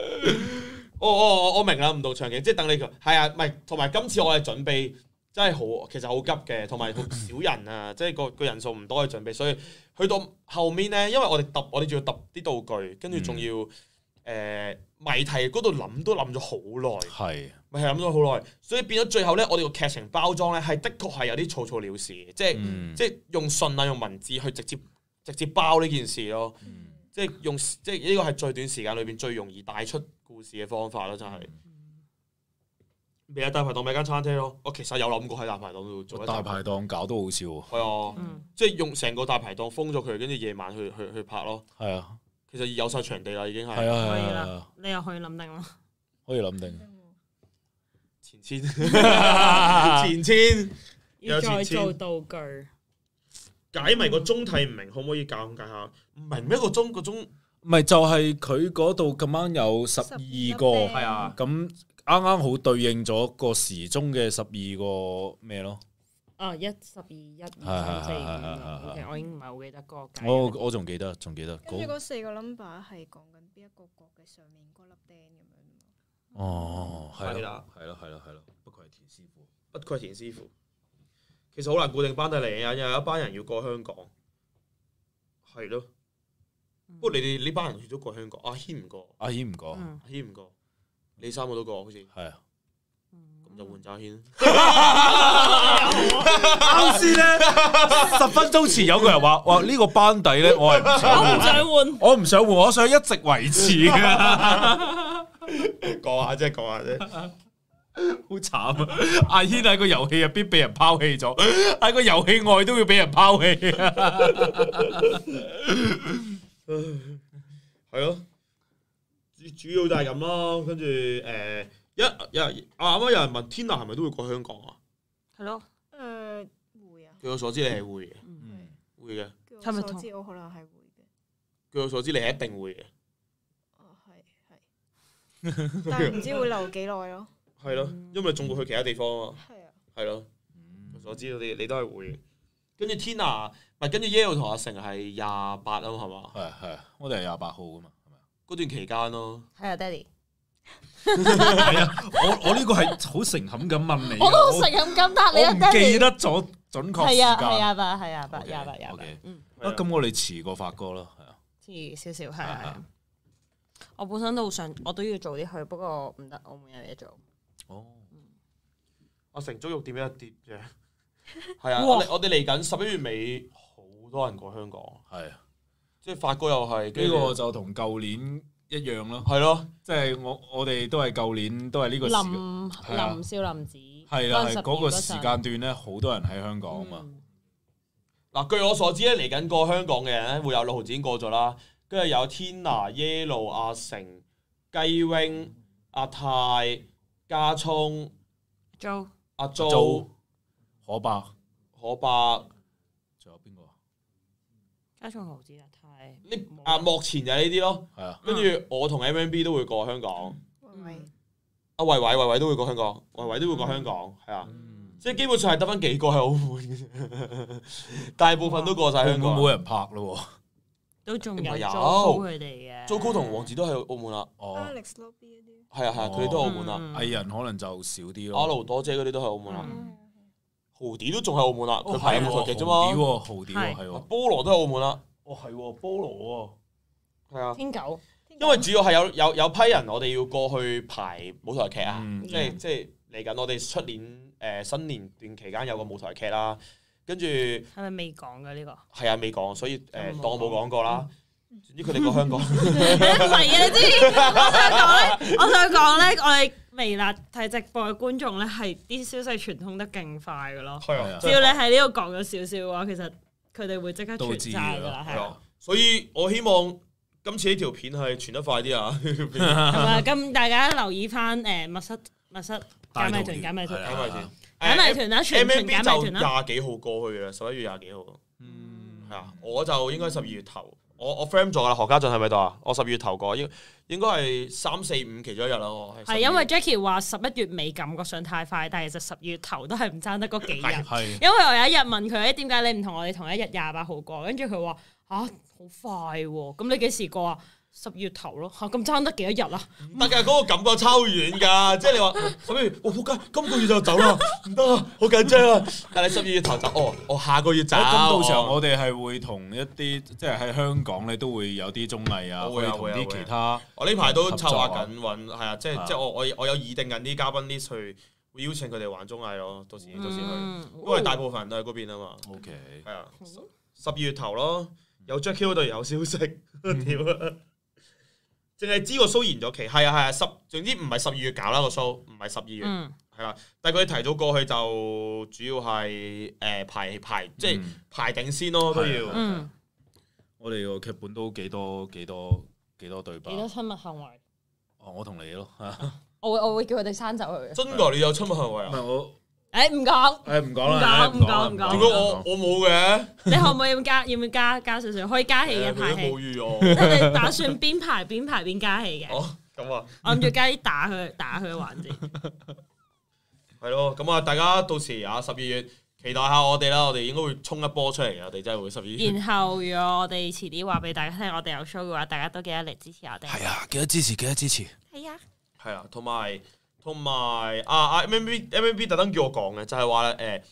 [SPEAKER 1] 我明啦，唔同場景，即係等你係啊，唔係同埋今次我係準備真係好，其實好急嘅，同埋少人啊，即係個人數唔多嘅準備，所以去到後面咧，因為我哋仲要揼啲道具，跟住仲要謎題嗰度諗咗好耐，係咪係諗咗好耐？所以變咗最後咧，我哋個劇情包裝咧係的確係有啲草草了事嘅，即係用信啊，用文字去直接包呢件事咯。即係呢個係最短時間裏邊最容易帶出故事嘅方法咯，真係。咪喺大排檔咪間餐廳咯，我其實有諗過喺大排檔度做。
[SPEAKER 2] 大排檔搞都好笑喎。
[SPEAKER 1] 係啊，即係用成個大排檔封咗佢，跟住夜晚去拍咯。係啊，其實有晒場地啦，已經係。係啊，
[SPEAKER 3] 可以啦，你又可以諗定啦。
[SPEAKER 2] 可以諗定。
[SPEAKER 1] 前千
[SPEAKER 3] 要再做道具。
[SPEAKER 1] 解謎個鐘睇唔明，可唔可以教解下？唔明咩個鐘？
[SPEAKER 2] 唔係就係佢嗰度咁啱有12個，
[SPEAKER 1] 係啊，
[SPEAKER 2] 咁啱好對應咗個時鐘嘅12個咩咯？
[SPEAKER 3] 啊，1、12、1、2、3、4、5。其實我已經唔係好記得個解。
[SPEAKER 2] 我仲記得。
[SPEAKER 4] 跟住嗰4個 number 係講緊邊一個角嘅上面嗰粒釘咁樣。
[SPEAKER 2] 哦，係
[SPEAKER 1] 啦，
[SPEAKER 2] 係咯，不愧係田師傅。
[SPEAKER 1] 其其實好難固定班底嚟嘅，有一班人要過香港，係咯。不過你哋呢班人都過香港，阿軒唔過，
[SPEAKER 2] 阿軒唔過，
[SPEAKER 3] 嗯
[SPEAKER 1] 阿軒唔過，你三個都過好似，
[SPEAKER 2] 係啊。
[SPEAKER 1] 咁就換咗阿軒。
[SPEAKER 2] 啱先咧，10分鐘前有個人話：哇，呢個班底咧，我係唔想換，我唔想換，我想一直維持嘅。
[SPEAKER 1] 講下啫，講下啫。
[SPEAKER 2] 好慘啊！阿軒喺個遊戲入邊俾人拋棄咗，喺個遊戲外都要俾人拋棄。
[SPEAKER 1] 係咯，主要就係咁咯。跟住啱啱有人問 Tina 係咪都會過香港啊？
[SPEAKER 3] 係咯，
[SPEAKER 4] 會啊。
[SPEAKER 1] 據我所知你係會嘅，會嘅。
[SPEAKER 4] 據我所知我可能係會嘅。
[SPEAKER 1] 據我所知你係一定會嘅。
[SPEAKER 4] 係，但係唔知會留幾耐咯。
[SPEAKER 1] 係咯，因為仲會去其他地方啊。
[SPEAKER 4] 係啊。
[SPEAKER 1] 係咯，據我所知你都係會嘅。跟住 Tina，跟住 Yale 同阿成係28啊嘛，係嘛？
[SPEAKER 2] 係，我哋係28號噶嘛，係咪？
[SPEAKER 1] 嗰段期間咯。
[SPEAKER 3] 係啊，爹哋。
[SPEAKER 2] 係啊，我呢個係好誠懇咁問你，
[SPEAKER 3] 我都好誠懇咁答你啊，爹哋。
[SPEAKER 2] 我唔記得咗準確時間。
[SPEAKER 3] 係啊，28。
[SPEAKER 2] 咁我哋遲過發哥咯，係啊。
[SPEAKER 3] 遲少少係。我本身都好想，我都要早啲去，不過唔得，我冇有嘢做。
[SPEAKER 2] 哦。
[SPEAKER 1] 阿成足肉點一跌啫。係啊，我哋嚟緊11月尾，好多人過香港。係啊，即係發哥又係
[SPEAKER 2] 呢個就同舊年一樣咯。係咯，即係我哋都係舊年都係呢個
[SPEAKER 3] 林少林寺
[SPEAKER 2] 係啦，係嗰個時間段咧，好多人喺香港啊嘛。
[SPEAKER 1] 嗱，據我所知咧，嚟緊過香港嘅人咧，會有6號已經過咗啦，跟住有 Tina、Yellow、阿成、雞 wing、阿泰、加聰、阿 Jo。
[SPEAKER 2] 可伯，
[SPEAKER 1] 仲有邊個啊？
[SPEAKER 3] 加聰豪子啊，太
[SPEAKER 1] 目前就係呢啲咯。係啊，跟住我同 MMB 都會過香港。阿維維都會過香港，維維都會過香港，係啊。即係基本上係得翻幾個喺澳門嘅啫，大部分都過晒香港。
[SPEAKER 2] 冇人拍咯，
[SPEAKER 3] 都仲有 Joco 佢哋嘅。
[SPEAKER 1] Joco 同王子都喺澳門啦。
[SPEAKER 4] Alex Lobby 嗰啲。
[SPEAKER 1] 係啊，佢哋都喺澳門啦。
[SPEAKER 2] 藝人可能就少啲咯。
[SPEAKER 1] 阿盧多姐嗰啲都喺澳門啦。豪啲都仲喺澳門啦，佢排舞台劇啫嘛。
[SPEAKER 2] 豪啲係喎，
[SPEAKER 1] 菠蘿都喺澳門啦。
[SPEAKER 2] 係喎，菠蘿喎，
[SPEAKER 1] 係啊。
[SPEAKER 3] 天狗，
[SPEAKER 1] 因為主要係有批人，我哋要過去排舞台劇啊，即係嚟緊我哋出年新年段期間有個舞台劇啦，跟住係
[SPEAKER 3] 咪未講㗎呢個？
[SPEAKER 1] 係啊，未講，所以當我冇講過啦。總之佢哋過香港，唔
[SPEAKER 3] 係啊！你知我想講咧，我哋微辣睇直播嘅觀眾咧，係啲消息傳通得勁快㗎咯。係啊，只要你喺呢度講咗少少嘅話，其實佢哋會即刻傳晒㗎啦。係啊，
[SPEAKER 1] 所以我希望今次呢條片係傳得快啲啊！
[SPEAKER 3] 係咪？咁大家留意翻密室解謎團啦，全解謎團啦。
[SPEAKER 1] 20幾號過去嘅11月20幾號。係啊，我就應該12月頭。我 frame 咗啦，何家俊喺咪度啊？我12月頭過，應該係3、4、5其中一日啦。
[SPEAKER 3] 係因為 Jackie 話11月尾感覺上太快，但係其實12月頭都係唔爭得嗰幾日。因為我有一日問佢，點解你唔同我哋同一日28號過？跟住佢話好快喎，咁你幾時過啊？12月頭咯，咁爭得幾多日啊？
[SPEAKER 1] 唔得㗎，嗰個感覺超遠㗎，即係你話11月，我仆街，今個月就走啦，唔得啊，好緊張啊！但係12月頭走，我下個月走。
[SPEAKER 2] 咁到時候我哋係會同一啲即係喺香港咧都會有啲綜藝啊，會同啲其他。
[SPEAKER 1] 我呢排都策劃緊揾，係啊，即係我有擬定緊啲嘉賓 list 去會邀請佢哋玩綜藝咯，到時去，因為大部分人都喺嗰邊啊嘛。
[SPEAKER 2] OK，
[SPEAKER 1] 係啊，12月頭咯，有 Jackie 嗰度有消息，屌啊！淨係知個 show 延咗期，係啊，總之唔係12月搞啦個 show，唔係12月，係啦。但係佢哋提早過去就主要係排即係排定先咯，都要。
[SPEAKER 2] 我哋個劇本都幾多對白。
[SPEAKER 3] 幾多親密行為？
[SPEAKER 2] 我同你咯，
[SPEAKER 3] 我會叫佢哋刪走佢。
[SPEAKER 1] 真㗎？你有親密行為啊？
[SPEAKER 2] 唔係我。
[SPEAKER 3] 唔講。
[SPEAKER 2] 唔講啦。
[SPEAKER 3] 唔講。
[SPEAKER 1] 點解我冇嘅？
[SPEAKER 3] 你可唔可以要唔要加少少？可以加戲嘅排戲。
[SPEAKER 1] 冇預我。
[SPEAKER 3] 你哋打算邊排邊加戲嘅？
[SPEAKER 1] 咁啊。
[SPEAKER 3] 我諗住加啲打佢嘅環節。
[SPEAKER 1] 係咯，咁啊，大家到時12月期待下我哋啦，我哋應該會衝一波出嚟嘅，我哋真係會12月。
[SPEAKER 3] 然後如果我哋遲啲話俾大家聽，我哋有 show 嘅話，大家都記得嚟支持我哋。
[SPEAKER 2] 係啊，記得支持。
[SPEAKER 3] 係啊。
[SPEAKER 1] 係啊，同埋MMB 特登叫我講嘅，就係話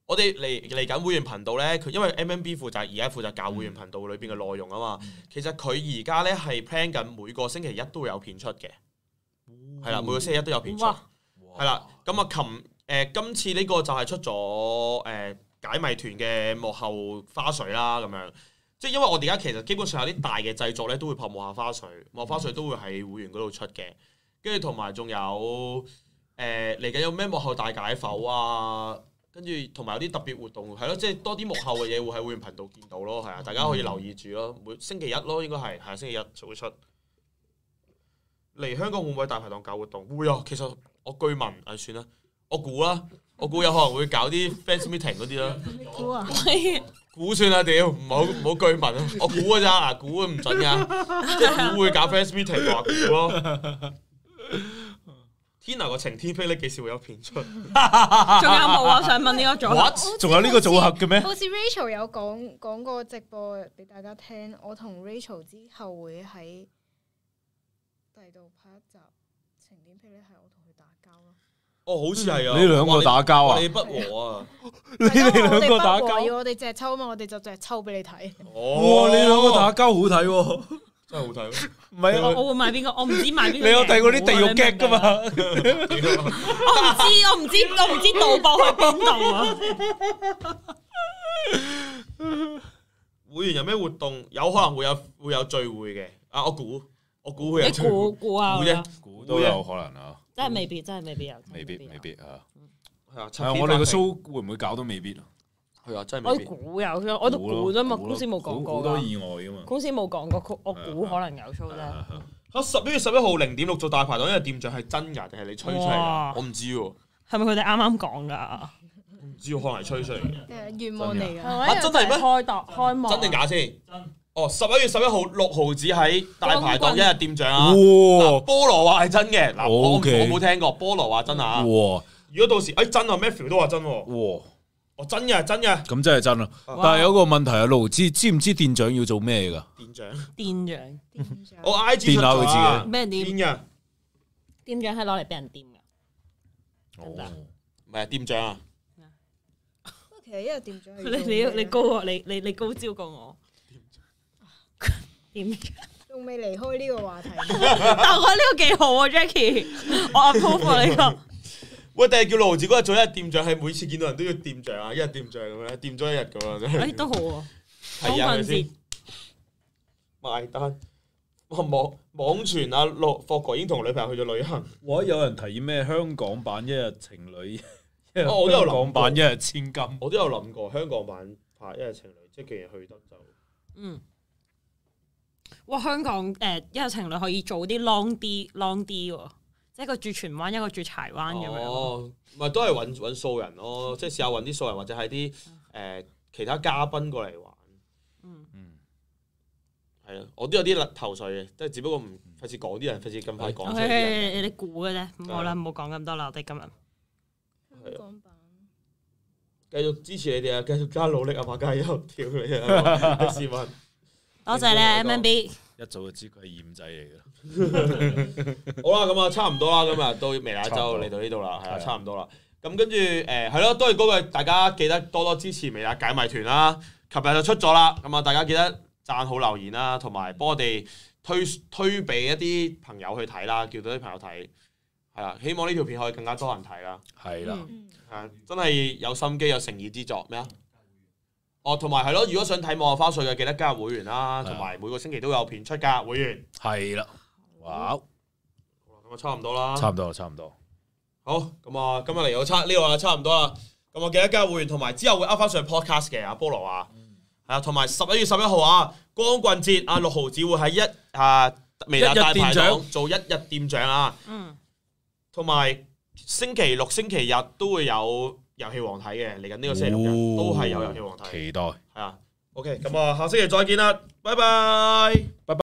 [SPEAKER 1] 我哋嚟緊會員頻道咧，佢因為 MMB 而家負責搞會員頻道裏邊嘅內容啊嘛。其實佢而家咧係 plan 緊每個星期一都會有片出嘅，係啦，每個星期一都有片出，係啦。咁啊，今次呢個就係出咗解謎團嘅幕後花絮啦，咁樣。即係因為我哋而家其實基本上有啲大嘅製作咧，都會拍幕後花絮，幕後花絮都會喺會員嗰度出嘅。跟住同埋仲有嚟緊有咩幕後大解剖啊，跟住同埋有啲特別活動，係咯，即係多啲幕後嘅嘢會喺會員頻道見到咯，係啊，大家可以留意住咯。每星期一咯，應該係星期一就會出。嚟香港會唔會有大排檔搞活動？會啊，其實我據聞算啦，我估啦，我估有可能會搞啲 fans meeting 嗰啲啦。
[SPEAKER 4] 估啊！
[SPEAKER 1] 估算啦，屌，唔好據聞啊！我估㗎咋，嗱，估唔準㗎，即係估會搞 fans meeting 話估咯。Tina 個晴天霹靂幾時會有片出？仲有
[SPEAKER 3] 冇啊？想問呢個組合？
[SPEAKER 2] 仲有呢個組合嘅咩？
[SPEAKER 4] 好似 Rachel 有講過直播俾大家聽，我同 Rachel 之後會喺第度拍一集晴天霹靂，係我同佢打交咯。
[SPEAKER 1] 哦，好似係啊！
[SPEAKER 2] 你兩個打交啊？
[SPEAKER 1] 你不和啊？
[SPEAKER 2] 你哋兩個打交？
[SPEAKER 4] 要我哋隻抽啊嘛，我哋就隻抽俾你睇。
[SPEAKER 2] 哇！你兩個打交好睇喎，
[SPEAKER 1] 真係好睇。
[SPEAKER 2] 唔係啊！
[SPEAKER 3] 我會買邊個？我唔知買邊個。
[SPEAKER 2] 你有睇過啲地獄劇㗎嘛？
[SPEAKER 3] 我唔知導播去邊度啊！
[SPEAKER 1] 會員有咩活動？有可能會有聚會嘅。我估會有聚會。
[SPEAKER 3] 你估啊？
[SPEAKER 2] 估都有可能啊！
[SPEAKER 3] 真係未必有。
[SPEAKER 2] 未必啊！
[SPEAKER 1] 係啊，
[SPEAKER 2] 我哋個 show 會唔會搞都未必啊？
[SPEAKER 1] 係啊，真係未必。
[SPEAKER 3] 我估有，我都估啫嘛，公司冇講過。
[SPEAKER 2] 好多意外㗎嘛！
[SPEAKER 3] 公司冇講過，我估可能有 show 啫。
[SPEAKER 1] 11月11號0.6做大排檔，因為店長係真㗎定係你吹出嚟㗎？我唔知喎。
[SPEAKER 3] 係咪佢哋啱啱講㗎？
[SPEAKER 1] 唔知喎，可能係吹出嚟嘅。
[SPEAKER 4] 願望嚟㗎。
[SPEAKER 1] 真係咩？
[SPEAKER 3] 開幕。
[SPEAKER 1] 真定假先？哦，11月11號6毫子喺大排檔一日店長啊！菠蘿話係真嘅，嗱我冇聽過，菠蘿話真啊！如果到時真啊 Matthew 都話真喎。真嘅。
[SPEAKER 2] 咁真係真啦，但係有個問題啊，盧知唔知店長要做咩㗎？
[SPEAKER 3] 店長，
[SPEAKER 1] 我 IG
[SPEAKER 2] 電下佢自己。
[SPEAKER 3] 咩店？
[SPEAKER 1] 嘅
[SPEAKER 3] 店長係攞嚟俾人掂㗎。
[SPEAKER 1] 唔係店長啊！
[SPEAKER 4] 其實一日店長
[SPEAKER 3] 你高我，你高招過我。店長
[SPEAKER 4] 仲未離開呢個話題，
[SPEAKER 3] 但我覺得呢個幾好啊 Jackie， 我 approve 呢個。
[SPEAKER 1] 喂，定係叫盧子嗰日做一日店長，係每次見到人都要店長啊，一日店長咁樣，掂咗一日咁樣真係。
[SPEAKER 3] 都好喎，
[SPEAKER 1] 係啊，係咪先？埋單，網傳阿霍哥已經同女朋友去咗旅行。
[SPEAKER 2] 哇！有人提議咩香港版一日情侶，
[SPEAKER 1] 我都有諗過
[SPEAKER 2] 香港版一日千金。
[SPEAKER 1] 我都有諗過香港版拍一日情侶，即係既然去得就
[SPEAKER 3] 哇！香港一日情侶可以做啲 long 啲喎。即係一個住荃灣，一個住柴灣咁樣。
[SPEAKER 1] 哦，咪都係揾素人咯，即係試下揾啲素人，或者係啲其他嘉賓過嚟玩。係啊，我都有啲頭緒嘅，即係只不過唔費事講啲人，費事咁快講出嚟。
[SPEAKER 3] 你估嘅啫，唔好啦，唔好講咁多啦，我哋今日。
[SPEAKER 4] 香港版。
[SPEAKER 1] 繼續支持你哋啊！繼續加努力啊！馬加油，跳你啊！試問。
[SPEAKER 3] 多謝咧 MMB。
[SPEAKER 2] 一早就知佢係鹽仔嚟嘅。
[SPEAKER 1] 好啦，咁啊，差唔多啦，今日到微辣一周嚟到呢度啦，係啊，差唔多啦。咁跟住係咯，都係嗰句，大家記得多多支持微辣解謎團啦。琴日就出咗啦，咁啊，大家記得讚好留言啦，同埋幫我哋推俾一啲朋友去睇啦，叫到啲朋友睇。係啦，希望呢條片可以更加多人睇啦。
[SPEAKER 2] 係啦，
[SPEAKER 1] 係真係有心機有誠意之作咩啊？哦，同埋係咯，如果想睇幕後花絮嘅，記得加入會員啦，同埋每個星期都有片出㗎，會員。係啦，哇！咁啊，差唔多啦。差唔多。好，咁啊，今日嚟到呢度啦，差唔多啦。咁我記得加入會員，同埋之後會 up 翻上 podcast 嘅。阿菠蘿話，係啊，同埋11月11號啊，光棍節啊，6毫子會喺微辣大排檔做一日店長啊。同埋星期六、星期日都會有遊戲王睇嘅，嚟緊呢個星期六日都係有遊戲王睇，
[SPEAKER 2] 期待。
[SPEAKER 1] 係啊，OK，咁啊，下星期再見啦，拜拜。